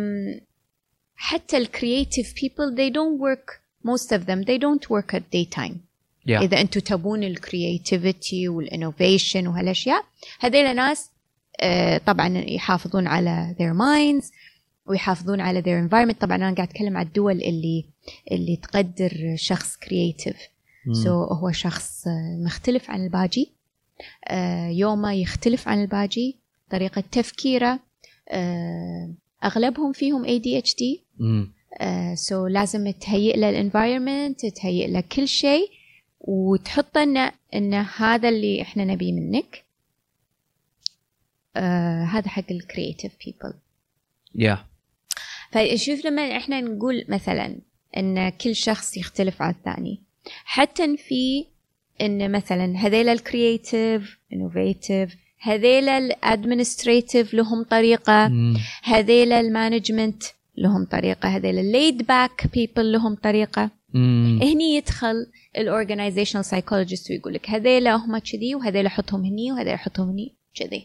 حتى creative people they don't work, most of them they don't work at daytime. إذا أنتوا تبون creativity والinnovation وهالأشياء، هذيل ناس طبعا يحافظون على their minds ويحافظون على their environment. طبعا أنا قاعد أتكلم عن الدول اللي تقدر شخص creative. so هو شخص مختلف عن الباجي، يومه يختلف عن الباجي، طريقة تفكيره، أغلبهم فيهم ADHD. so لازم تهيئ له environment، تهيئ له كل شيء، وتحط إن هذا اللي إحنا نبي منك. هذا حق ال creative people. فشوف لما إحنا نقول مثلا إن كل شخص يختلف عن الثاني، حتى في إن مثلا هذيل ال creative innovative، هذيل ال administrative لهم طريقة، هذيل ال management لهم طريقة، هذيل ال laid back people لهم طريقة. هني يدخل ال organizational psychologist ويقول لك هذيل هم كذي، وهذيل حطهم هني، وهذيل حطهم هني كذي.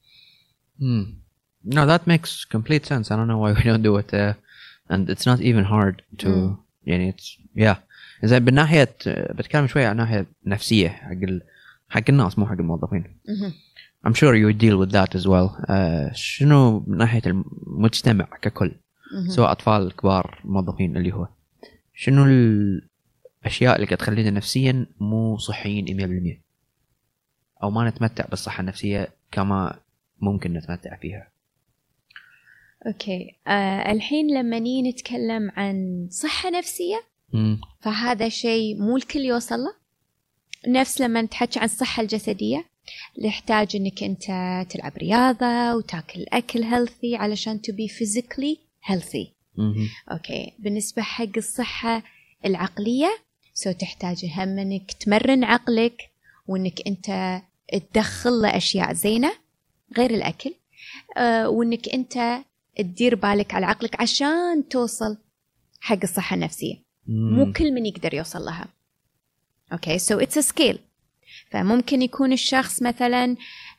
No, that makes complete sense. I don't know why we don't do it, and it's not even hard to. يعني it's إذا بالناحية بتكلم شوية عن ناحية نفسية حق الناس مو حق الموظفين. I'm sure you deal with that as well. شنو من ناحية المجتمع ككل، سواء أطفال كبار موظفين، اللي هو شنو الأشياء اللي تخلينا نفسيا مو صحيين 100%، أو ما نتمتع بالصحة النفسية كما ممكن نتمتع فيها؟ أوكي. الحين لما نتكلم عن صحة نفسية، فهذا شيء مو الكل يوصل له. نفس لما نتحكي عن الصحة الجسدية، يحتاج إنك أنت تلعب رياضة وتاكل أكل healthy علشان to be physically healthy. أوكي. بالنسبة حق الصحة العقلية، تحتاج هم إنك تمرن عقلك، وإنك أنت تدخل له أشياء زينة غير الأكل، وإنك أنت تدير بالك على عقلك عشان توصل حق الصحة النفسية. مو كل من يقدر يوصل لها. أوكي. so it's a scale. فممكن يكون الشخص مثلا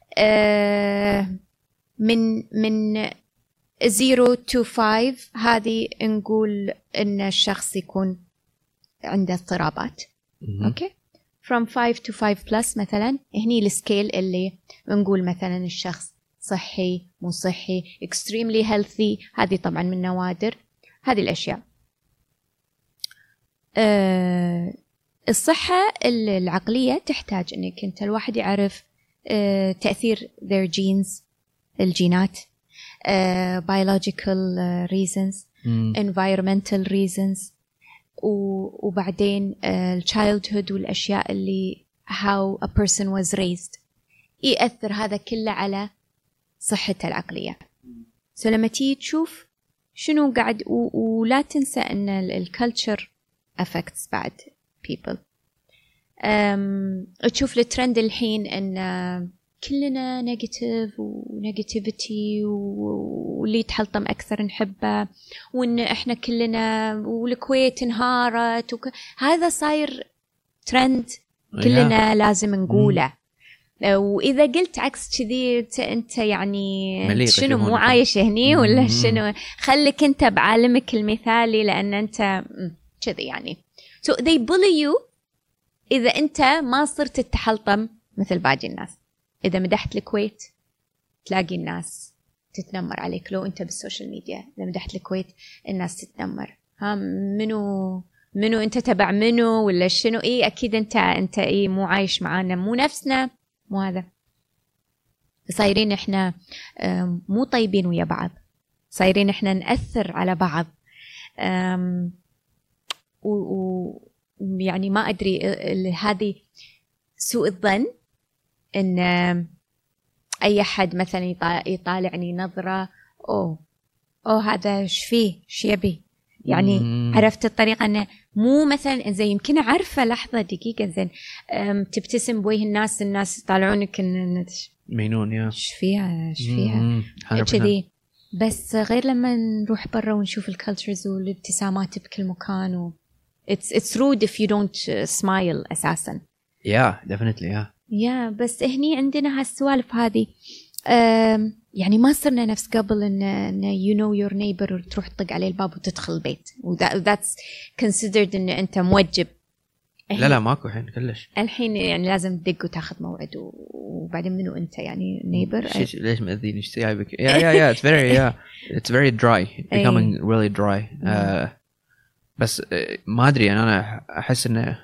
من 0 to 5، هذه نقول إن الشخص يكون عنده اضطرابات. أوكي. from 5 to 5 plus مثلا، هني السكيل اللي نقول مثلا الشخص صحي مو صحي extremely healthy. هذه طبعا من نوادر هذه الأشياء. الصحة العقلية تحتاج إنك أنت الواحد يعرف تأثير their genes، الجينات، biological reasons، environmental reasons، وبعدين childhood والأشياء اللي how a person was raised، يأثر هذا كله على صحته العقلية. لما تيجي تشوف شنو قاعد، ولا تنسى أن الكالتشر affects بعد people. تشوف الترند الحين أن كلنا نيجاتيف ونيجاتيفيتي، واللي يتحلطم أكثر نحبه، وإن إحنا كلنا، والكويت انهارت، هذا صاير ترند كلنا لازم نقوله. وإذا قلت عكس كذي أنت يعني شنو مو عايش هني ولا شنو؟ خليك أنت بعالمك المثالي، لأن أنت كذي يعني. so they bully you إذا أنت ما صرت تتحلطم مثل باقي الناس. إذا مدحت الكويت تلاقي الناس تتنمر عليك. لو أنت بالسوشيال ميديا إذا مدحت الكويت الناس تتنمر، ها منو أنت تبع منو ولا شنو؟ إيه أكيد أنت إيه مو عايش معانا، مو نفسنا، مو هذا. صايرين إحنا مو طيبين ويا بعض، صايرين إحنا نأثر على بعض. يعني ما أدري هذه سوء الظن إن أي حد مثلا يطالعني نظرة هذا إيش فيه إيش يبي يعني عرفت الطريقة أنه مو مثلا زي يمكن عارفة لحظة دقيقة زين تبتسم بوجه الناس يطالعونك إن مينون يا إيش فيها كذي. بس غير لما نروح برا ونشوف الكالتشرز والابتسامات بكل مكان it's rude if you don't smile أساسا. definitely بس هني عندنا هالسوالف هذه يعني ما صرنا نفس قبل إن you know your neighbor وتروح تطق عليه الباب وتدخل البيت that's considered إن أنت موجب. لا ماكو الحين كلش. الحين يعني لازم تدق وتاخذ موعد وبعدين منو أنت يعني neighbor ليش مأذيني إيش جايبك it's very it's very dry becoming really dry بس ما أدري أنا أحس إنه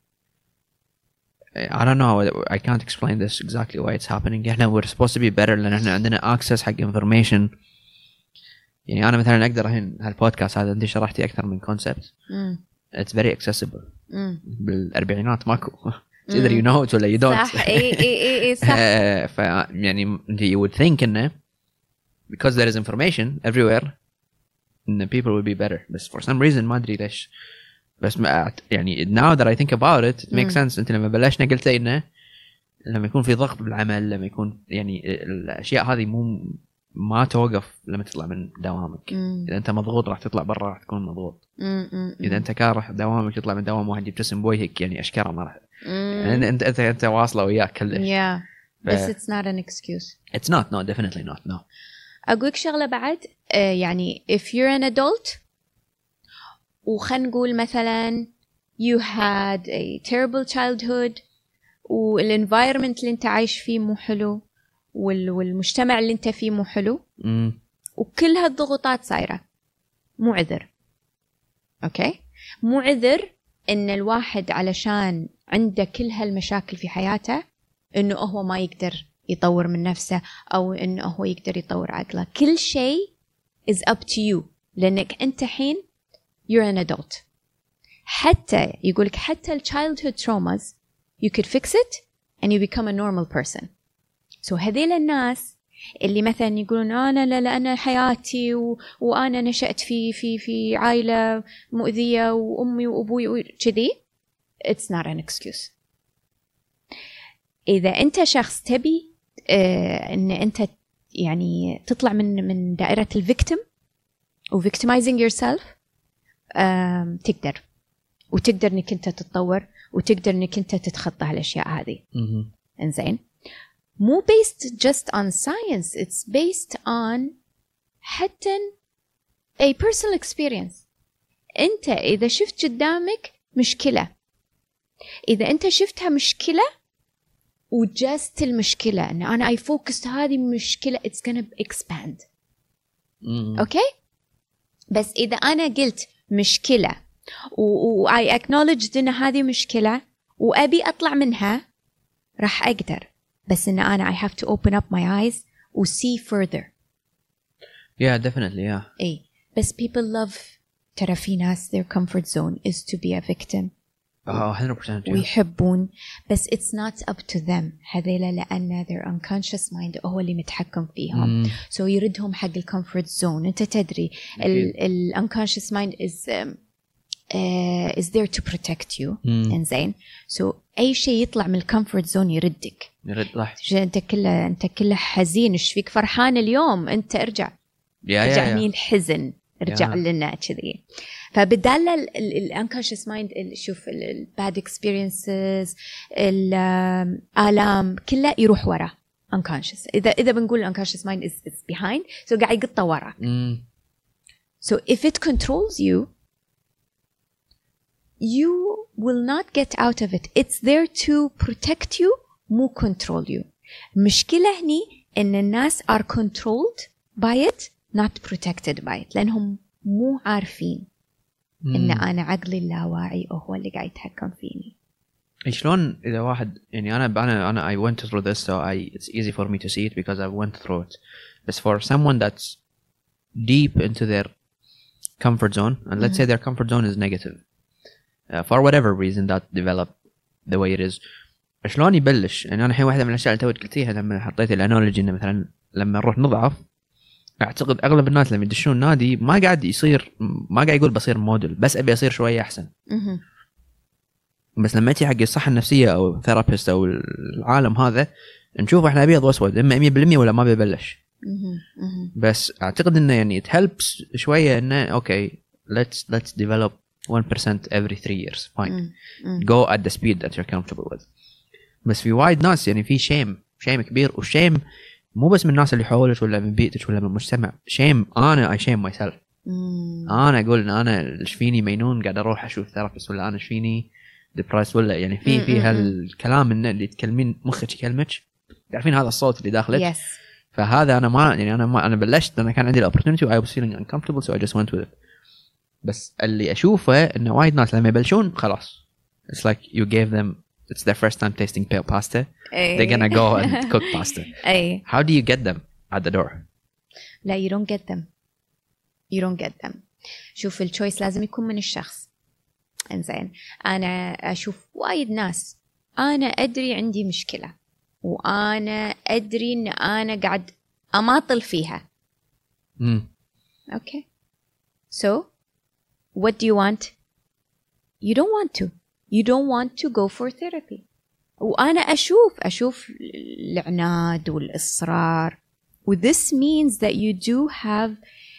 I don't know. I can't explain this exactly why it's happening. إحنا we're supposed to be better لأن إحنا عندنا access حق information. يعني أنا مثلاً أقدر الحين هالبودكاست هذا أنت شرحتي أكثر من concept. It's very accessible. بالأربعينات ماكو. Either you know it ولا you don't. صح. صح. يعني you would think إنه because there is information everywhere, the people will be better. But for some reason ما أدري ليش. بس يعني now that I think about it makes sense. أنت لما بلشنا قلت إنه لما يكون في ضغط بالعمل لما يكون يعني الأشياء هذه ما توقف لما تطلع من دوامك. إذا أنت مضغوط راح تطلع برا راح تكون مضغوط. إذا أنت كاره دوامك تطلع من دوام واحد يبتسم بوجهك يعني أشكره ما راح يعني أنت واصلة وياك كلش. بس it's not an excuse. It's not. No, definitely not. No. أقولك شغلة بعد يعني if you're an adult وخلنا نقول مثلا you had a terrible childhood والenvironment اللي انت عايش فيه مو حلو والمجتمع اللي انت فيه مو حلو وكل هالضغوطات صايرة مو عذر. اوكي مو عذر ان الواحد علشان عنده كل هالمشاكل في حياته انه هو ما يقدر يطور من نفسه او انه هو يقدر يطور عقله. كل شيء is up to you لانك انت حين you're an adult. حتى يقولك حتى childhood traumas you could fix it and you become a normal person. so هذيل الناس اللي مثلا يقولون لا أنا حياتي وأنا نشأت في عائلة مؤذية وأمي وأبوي كذي it's not an excuse. إذا أنت شخص تبي إن أنت يعني تطلع من دائرة الفيكتيم و victimizing yourself تقدر وتقدر انك انت تتطور وتقدر انك انت تتخطى هالاشياء هذه. انزين مو based just on science, it's based on حتى a personal experience. انت اذا شفت قدامك مشكلة، اذا انت شفتها مشكلة وجست المشكلة ان انا I focused هذه مشكلة it's gonna expand. اوكي بس اذا انا قلت مشكلة I acknowledged إن هذه مشكلة وأبي أطلع منها راح أقدر. بس إن أنا I have to open up my eyes و see further. Definitely إيه بس people love ترى في ناس their comfort zone is to be a victim. 100%. ويحبون بس it's not up to them. هذيلا لأن their unconscious mind هو اللي متحكم فيهم. so يردهم حق ال comfort zone. أنت تدري ال unconscious mind is there to protect you. إنزين so أي شيء يطلع من الكومفورت زون يردك. أنت كله حزين إيش فيك فرحان اليوم أنت ارجع رجعني الحزن ارجع لنا كذي. فبدال الانكونشس مايند شوف الباد اكسبيرينسز الآلام كله يروح ورا unconscious. إذا بنقول unconscious mind is behind so قاعد يقطع ورا. so if it controls you you will not get out of it. It's there to protect you مو control you. مشكلة هني إن الناس are controlled by it not protected by it لأنهم مو عارفين إن أنا عقلي اللاواعي هو اللي قاعد يتحكم فيني. شلون إذا واحد يعني أنا I went through this so it's easy for me to see it because I went through it. But for someone that's deep into their comfort zone and let's say their comfort zone is negative for whatever reason that developed the way it is. شلون يبلش؟ يعني أنا الحين واحدة من الأشياء اللي توي قلتيها لما حطيت الأنالوجي إنه مثلا لما نروح نضعف، أعتقد أغلب الناس لما يدشون نادي ما قاعد يقول بصير موديل، بس أبي أصير شوية أحسن. بس لما تيجي حق الصحة النفسية أو ثيرابيست أو العالم هذا نشوف إحنا أبيض وأسود، إما 100% ولا ما بيبلش. بس أعتقد إنه يعني it helps شوية إنه okay let's develop 1% every 3 years fine go at the speed that you're comfortable with. بس في وايد ناس يعني في شيم كبير، وشيم مو بس من الناس اللي حولك ولا من بيئتك ولا من المجتمع، شيم أنا I shame myself. أنا أقول إن أنا إيش فيني مينون قاعد أروح أشوف ثيرابيست، ولا أنا إيش فيني depressed، ولا يعني في هالكلام إن اللي تكلمين مخك يكلمك، تعرفين هذا الصوت اللي داخلك. فهذا أنا ما يعني أنا بلشت، أنا كان عندي opportunity I was feeling uncomfortable so I just went with it. بس اللي أشوفه إنه وايد ناس لما يبلشون خلاص it's like you gave them it's their first time tasting pale pasta. They're gonna go and cook pasta. How do you get them at the door? لا you don't get them. شوف الchoice لازم يكون من الشخص. إنزين أنا أشوف وايد ناس أنا أدري عندي مشكلة وأنا أدري إن أنا قاعد أماطل فيها. Okay. So what do you want? You don't want to. You don't want to go for therapy. وأنا أشوف العناد والإصرار. This means that you do have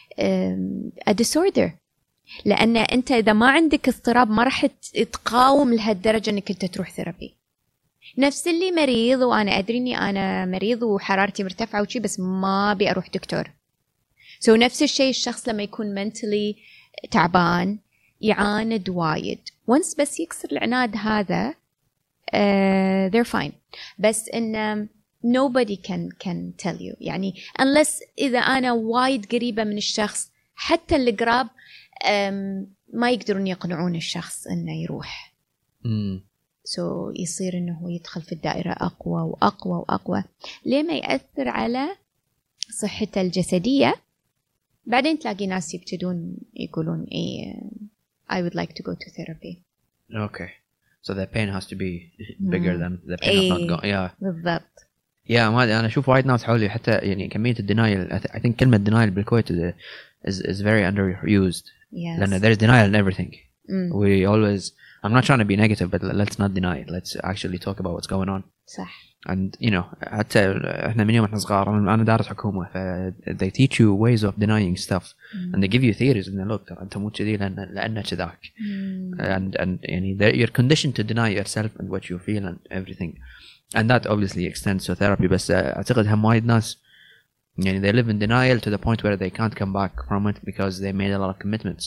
a disorder. لأن أنت إذا ما عندك اضطراب ما راح تقاوم لهالدرجة إنك أنت تروح ثيرابي. نفس اللي مريض وأنا أدري إني أنا مريض وحرارتي مرتفعة وشي بس ما أبي أروح دكتور. So نفس الشيء الشخص لما يكون mentally تعبان يعاند وايد. once بس يكسر العناد هذا they're fine. بس إن nobody can tell you يعني unless إذا أنا وايد قريبة من الشخص، حتى اللي قراب ما يقدرون يقنعون الشخص إنه يروح. so يصير إنه هو يدخل في الدائرة أقوى وأقوى وأقوى لما يأثر على صحته الجسدية. بعدين تلاقي ناس يبتدون يقولون إيه I would like to go to therapy. Okay. So the pain has to be bigger than the pain of not going. Yeah. بالضبط. Yeah ما أنا أشوف وايد ناس حولي حتى يعني كمية الدينايل. I think كلمة denial بالكويت is very underused. Yes. لأن there's denial in everything. We always. I'm not trying to be negative, but let's not deny it. Let's actually talk about what's going on. صح. And you know حتى إحنا من يوم إحنا صغار أنا دارس حكومة they teach you ways of denying stuff and they give you theories and look أنت مو كذي لأن كذاك and يعني you're conditioned to deny yourself and what you feel and everything and that obviously extends to therapy. بس أعتقد هم وايد ناس يعني they live in denial to the point where they can't come back from it because they made a lot of commitments.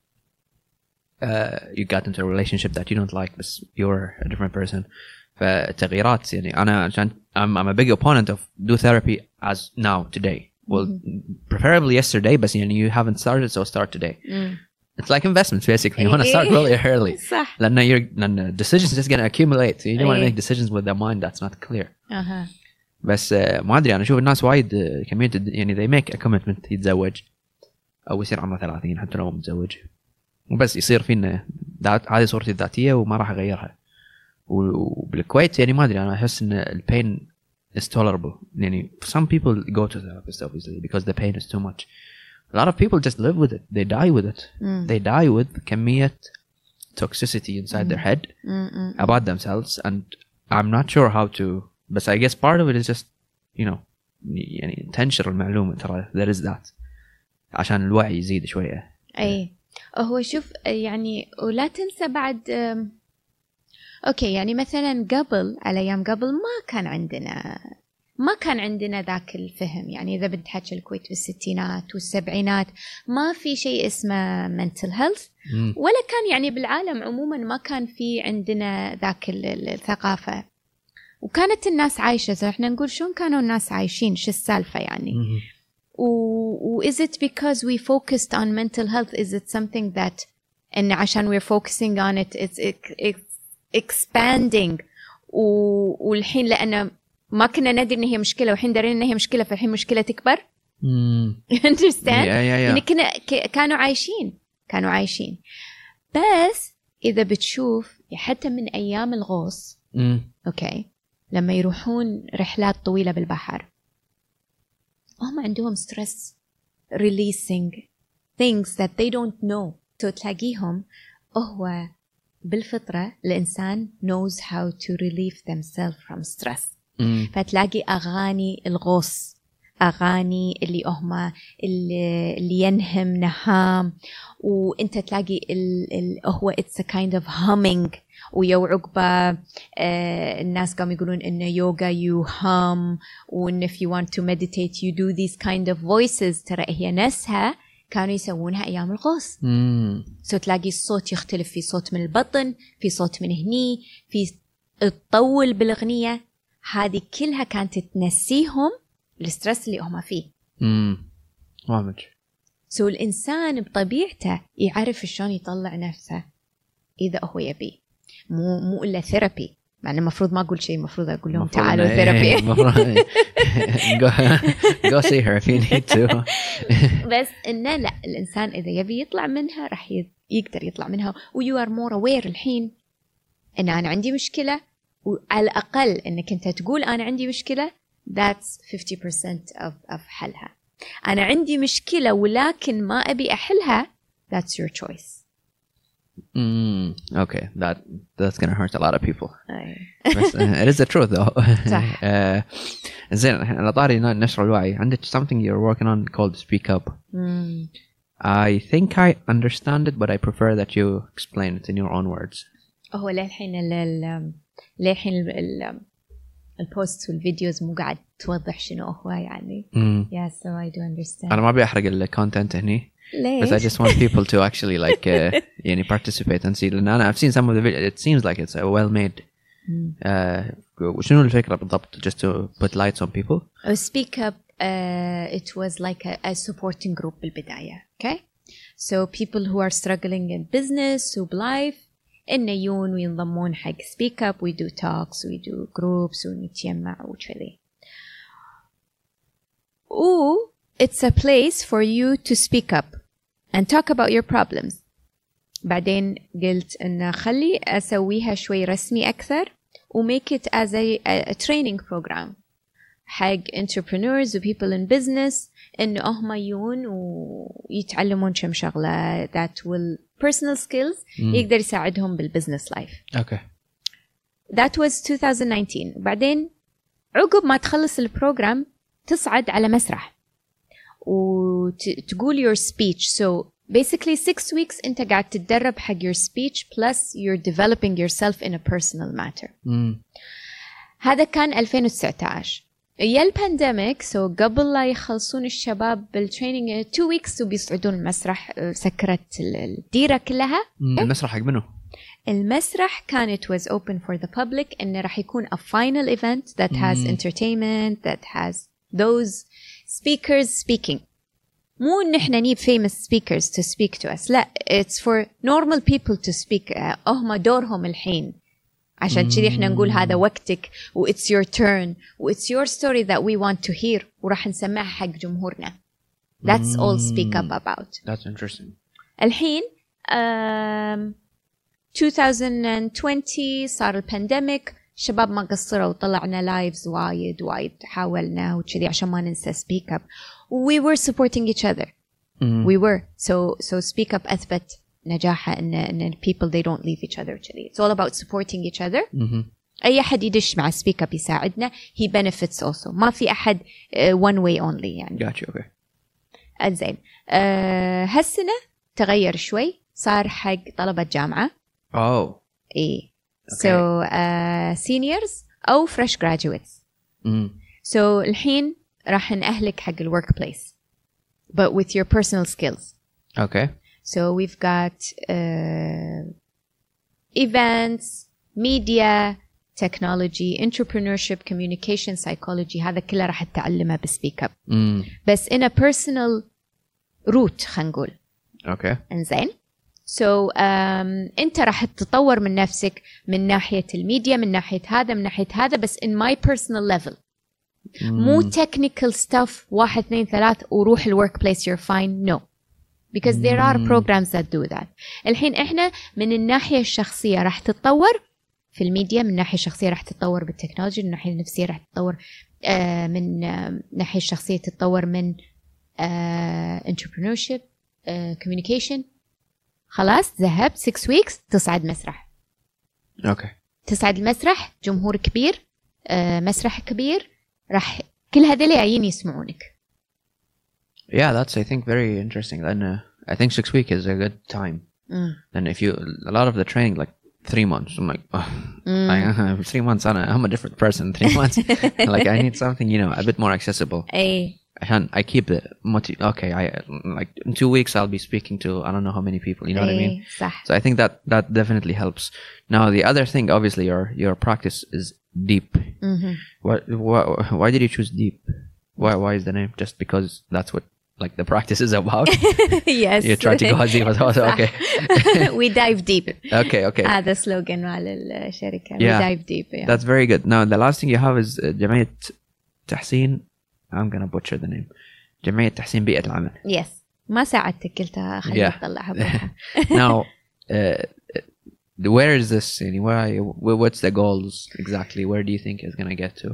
You got into a relationship that you don't like but you're a different person. فالتغييرات يعني أنا عشان I'm a big opponent of do therapy as now today. Well, preferably yesterday, but you haven't started, so start today. It's like investments basically. You want to start really early. صح. لأن decisions just gonna accumulate. So you don't want to make decisions with a mind that's not clear. بس ما أدري أنا أشوف الناس وايد كمية يعني they make a commitment يتزوج أو يصير عمره 30 حتى لو متزوج وبس يصير فينا هذه صورتي الذاتية وما راح أغيرها. وبالكويت يعني ما أدري أنا أحس إن الpain is tolerable. يعني some people go to therapists obviously because the pain is too much. A lot of people just live with it. They die with it. They die with كمية toxicity inside their head about themselves and I'm not sure how to. But I guess part of it is just you know يعني تنشر المعلومة ترى there is that عشان الوعي يزيد شوية. أي هو شوف يعني ولا تنسى بعد أوكي يعني مثلا قبل على أيام قبل ما كان عندنا ذاك الفهم. يعني إذا بنتحكي الكويت بالستينات والسبعينات ما في شيء اسمه mental health ولا كان يعني بالعالم عموما ما كان في عندنا ذاك الثقافة وكانت الناس عايشة. إحنا نقول شون كانوا الناس عايشين شو السالفة يعني is it because we focused on mental health? Is it something that إن عشان we're focusing on it it's expanding والحين لأنه ما كنا ندري إن هي مشكلة والحين دارين إن هي مشكلة فالحين مشكلة تكبر. understand؟ يعني كانوا عايشين بس إذا بتشوف حتى من أيام الغوص أوكي لما يروحون رحلات طويلة بالبحر هم عندهم stress releasing things that they don't know. تلاقيهم هو بالفطرة الإنسان knows how to relieve themselves from stress. فتلاقي أغاني الغوص أغاني اللي هما اللي ينهم نهام وانت تلاقي هو it's a kind of humming ويو عقبة الناس قاموا يقولون إنه يوغا you hum وإن if you want to meditate you do these kind of voices. ترى هي نفسها كانوا يسوونها أيام الغوص. so تلاقي الصوت يختلف في صوت من البطن في صوت من هني في تطول بالأغنية هذه كلها كانت تنسيهم السترس اللي هم فيه. واضح. so الإنسان بطبيعته يعرف شلون يطلع نفسه إذا هو يبي مو إلا ثيرابي. يعني المفروض ما أقول شيء المفروض أقول لهم تعالوا ثيرابي. go see her if you need to. بس إنه لا الإنسان إذا يبي يطلع منها راح يقدر يطلع منها و you are more aware الحين إن أنا عندي مشكلة وعلى الأقل إنك أنت تقول أنا عندي مشكلة that's 50% of حلها. أنا عندي مشكلة ولكن ما أبي أحلها that's your choice. Okay, that's gonna hurt a lot of people. بس it is the truth though. صح. زين على طاري نشر الوعي عندك something you're working on called Speak Up. I think I understand it but I prefer that you explain it in your own words. هو للحين البوست والفيديوز مو قاعد توضح شنو هو يعني. Yeah, so I do understand. أنا ما أبي أحرق الكونتنت هني. ليش؟ But I just want people to actually like يعني participate and see. لأن أنا I've seen some of the videos. It seems like it's well made. وشنو الفكرة بالضبط? Just to put lights on people. Speak Up. It was like a supporting group بالبداية. Okay. So people who are struggling in business وبلايف إنه يجون وينضمون حق Speak Up. We do talks, we do groups ونتجمع وكذي. It's a place for you to speak up and talk about your problems. بعدين قلت إن خلي أسويها شوي رسمي أكثر و make it as a training program حق entrepreneurs و people in business إنه هم يجون ويتعلمون كم شغلة that will personal skills يقدر يساعدهم بالbusiness life. Okay. That was 2019. بعدين عقب ما تخلص البروجرام تصعد على مسرح وتقول your speech. So basically 6 weeks أنت قاعد تتدرب حق your speech plus you're developing yourself in a personal matter. هذا كان 2019. يا البانديميك so قبل لا يخلصون الشباب بالتريننج 2 weeks وبيصعدون المسرح سكرت الديرة كلها. المسرح حق منه؟ المسرح كان it was open for the public إنه راح يكون a final event that has entertainment that has those speakers speaking. مو إن إحنا need famous speakers to speak to us. لا it's for normal people to speak. هم دورهم الحين عشان كذي إحنا نقول هذا وقتك و it's your turn و it's your story that we want to hear وراح نسمعها حق جمهورنا. That's all Speak Up about. That's interesting. الحين 2020 صار البانديميك شباب ما قصروا وطلعنا لايفز وايد حاولنا وكذي عشان ما ننسى Speak Up. We were supporting each other. We were. So Speak Up أثبت نجاحه إن people they don't leave each other كذي. It's all about supporting each other. أي أحد يدش مع Speak Up يساعدنا. He benefits also. ما في أحد one way only يعني. Gotcha. Okay. زين. هالسنة تغير شوي صار حق طلبة جامعة. Oh. إيه. Okay. So seniors أو fresh graduates. So الحين راح نأهلك حق الworkplace but with your personal skills. Okay. So we've got events, media, technology, entrepreneurship, communication, psychology. هذا كله راح تتعلمه بسبيك اب. بس in a personal route خلينا نقول. Okay. إنزين. So أنت راح تتطور من نفسك من ناحية الميديا من ناحية هذا بس in my personal level. مو technical stuff 1 2 3 وروح الworkplace you're fine. No. because there are programs that do that. الحين إحنا من الناحية الشخصية راح تتطور في الميديا، من الناحية الشخصية راح تتطور بالتكنولوجيا، من الناحية النفسية راح تتطور من الناحية الشخصية تتطور من entrepreneurship communication. خلاص ذهبت 6 weeks تصعد مسرح. اوكي. تصعد المسرح، جمهور كبير، مسرح كبير، راح كل هذول جايين يسمعونك. Yeah, that's I think very interesting. And I think 6 weeks is a good time. And if you a lot of the training like 3 months, I'm like, oh, 3 months I'm a different person. 3 months, like I need something, you know, a bit more accessible. I keep the okay. I like in 2 weeks I'll be speaking to I don't know how many people. You know what I mean? صح. So I think that definitely helps. Now the other thing, obviously, your practice is deep. Why did you choose deep? Why is the name? Just because that's what like the practice is about? Yes. You try to go deep also. Okay. We dive deep. Okay. هذا slogan مال الشركة. Yeah. We dive deep. Yeah. That's very good. Now the last thing you have is جمعية تحسين. I'm gonna butcher the name. جمعية تحسين بيئة العمل. Yes. ما ساعدتك قلتها خلينا نطلعها بروحها. Now where is this? What's the goals exactly? Where do you think it's gonna get to?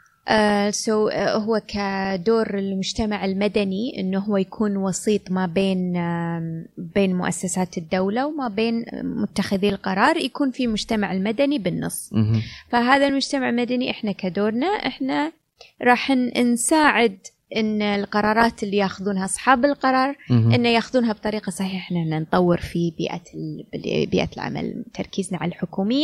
هو كدور المجتمع المدني إنه هو يكون وسيط ما بين مؤسسات الدولة وما بين متخذي القرار، يكون في مجتمع المدني بالنص. فهذا المجتمع المدني إحنا كدورنا إحنا راح نساعد إن القرارات اللي ياخذونها أصحاب القرار إن ياخذونها بطريقة صحيحة. إحنا نطور في بيئة العمل، تركيزنا على الحكومية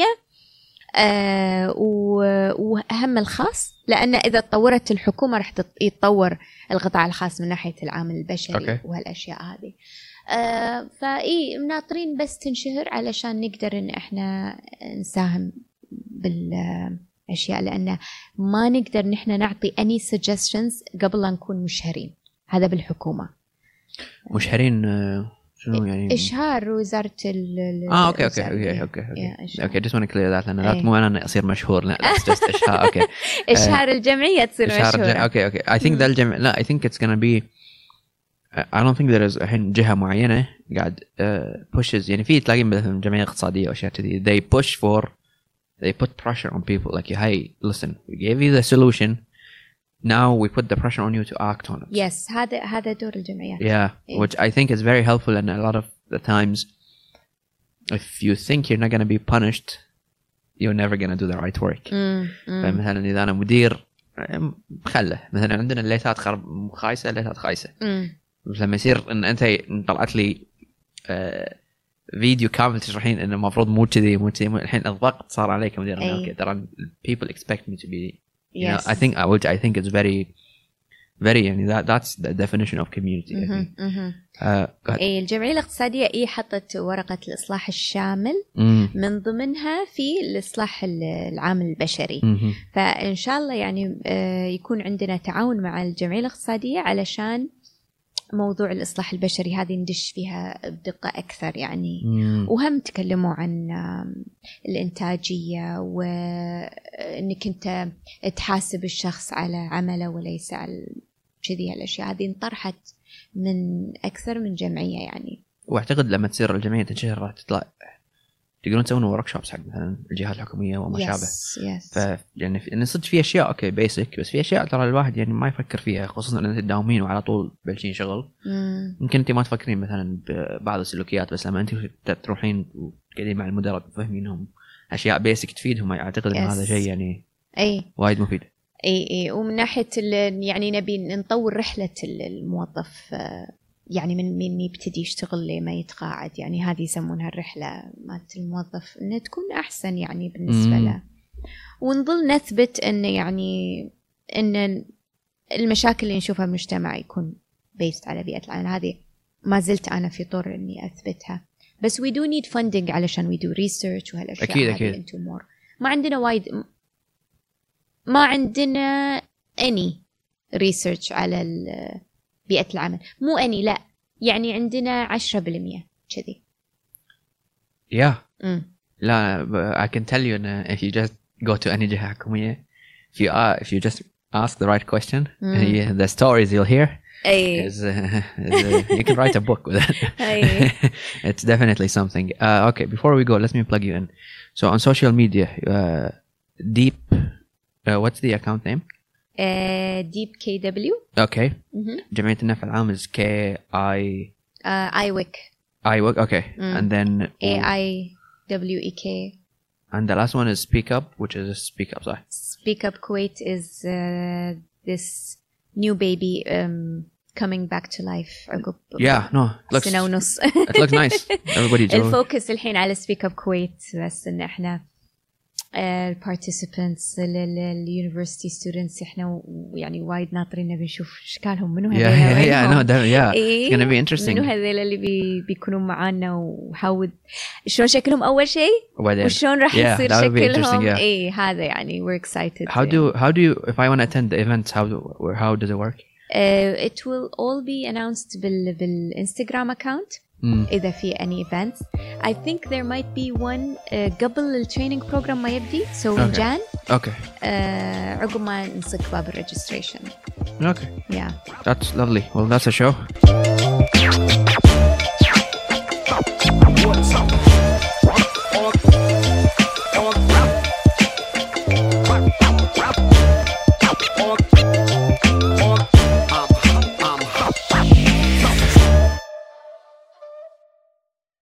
وأهم الخاص، لأن إذا تطورت الحكومة راح يتطور القطاع الخاص من ناحية العامل البشري وهالأشياء هذه. فإيه ناطرين بس تنشهر علشان نقدر إن إحنا نساهم بالأشياء، لأن ما نقدر نحن نعطي any suggestions قبل لا نكون مشهرين. هذا بالحكومة. مشهرين شنو يعني؟ إشهار وزارة اوكي just want to clear that لأن لا مو أنا أصير مشهور، لا it's just إشهار. اوكي. إشهار الجمعية تصير مشهورة. اوكي I think ده الجمع لا I think it's gonna be I don't think there is الحين جهة معينة قاعد pushes، يعني في تلاقي مثلا جمعية اقتصادية وأشياء كذي they put pressure on people like hey listen we gave you the solution now we put the pressure on you to act on it. Yes, هذا دور الجمعيات. Yeah, which I think is very helpful, and a lot of the times if you think you're not going to be punished you're never going to do the right work. فمثلا إذا أنا مدير خله مثلا عندنا الليتات خايسة الليتات خايسة، لما يصير إن أنت طلعت لي فيديو كامل تشرحين إنه المفروض مو كذي الحين الضغط صار عليك مدير. أوكي ترى people expect me to be you know, I think it's very يعني that's the definition of community. الجمعية الاقتصادية حطت ورقة الإصلاح الشامل من ضمنها في الإصلاح العامل البشري. فإن شاء الله يعني يكون عندنا تعاون مع الجمعية الاقتصادية علشان موضوع الإصلاح البشري هذه ندش فيها بدقة أكثر يعني. وهم تكلموا عن الإنتاجية وإنك أنت تحاسب الشخص على عمله وليس على كذي. الأشياء هذه انطرحت من أكثر من جمعية يعني. وأعتقد لما تصير الجمعية تنشهر راح تطلع تقدرون تسوون وركشوبس حق مثلا الجهات الحكومية وما شابه. يعني صدق في أشياء أوكي بيسك، بس في أشياء ترى الواحد يعني ما يفكر فيها، خصوصا إن أنت تداومين وعلى طول بلشين شغل. ممكن أنت ما تفكرين مثلا ببعض السلوكيات، بس لما أنت تروحين وقاعدين مع المدراء تفهمينهم أشياء بيسك تفيدهم، أعتقد إن هذا شيء يعني وايد مفيد. ومن ناحية يعني نبي نطور رحلة الموظف يعني من يبتدي يشتغل لما يتقاعد، يعني هذه يسمونها الرحلة مالت الموظف، إنها تكون أحسن يعني بالنسبة له. ونظل نثبت إن يعني إن المشاكل اللي نشوفها بالمجتمع يكون بيست على بيئة العمل. هذه ما زلت أنا في طور إني أثبتها، بس we do need funding علشان we do research وهالأشياء. أكيد. ما عندنا وايد، ما عندنا any research على بيئة العمل، مو أني لا يعني عندنا 10% كذي. لا I can tell you if you just go to any جهة حكومية if you just ask the right question the stories you'll hear you can write a book with it. It's definitely something. Okay, before we go, let me plug you in. So on social media, Deep, what's the account name? Deep KW. Okay. جمعية النفع العام is IWEK. IWEK, okay. And then AIWEK. And the last one is Speak Up, which is Speak Up, sorry. Speak Up Kuwait is this new baby coming back to life. Yeah, no, it looks nice. Everybody join. الفوكس الحين على Speak Up Kuwait بس إن إحنا participants اليونيفرسيتي ستودنتس احنا يعني وايد ناطرين بنشوف اشكالهم منو هذول it's gonna be interesting منو هذول اللي بيكونوا معانا وحاول شلون شكلهم اول شيء وشلون راح يصير شكلهم هذا يعني we're excited. How do you if I want to attend the events how does it work? It will all be announced بالانستغرام account. إذا في any events. I think there might be one قبل الtraining program ما يبدي so in Jan. Okay. عقب ما نصك باب registration. Okay. Yeah. That's lovely. Well, that's a show.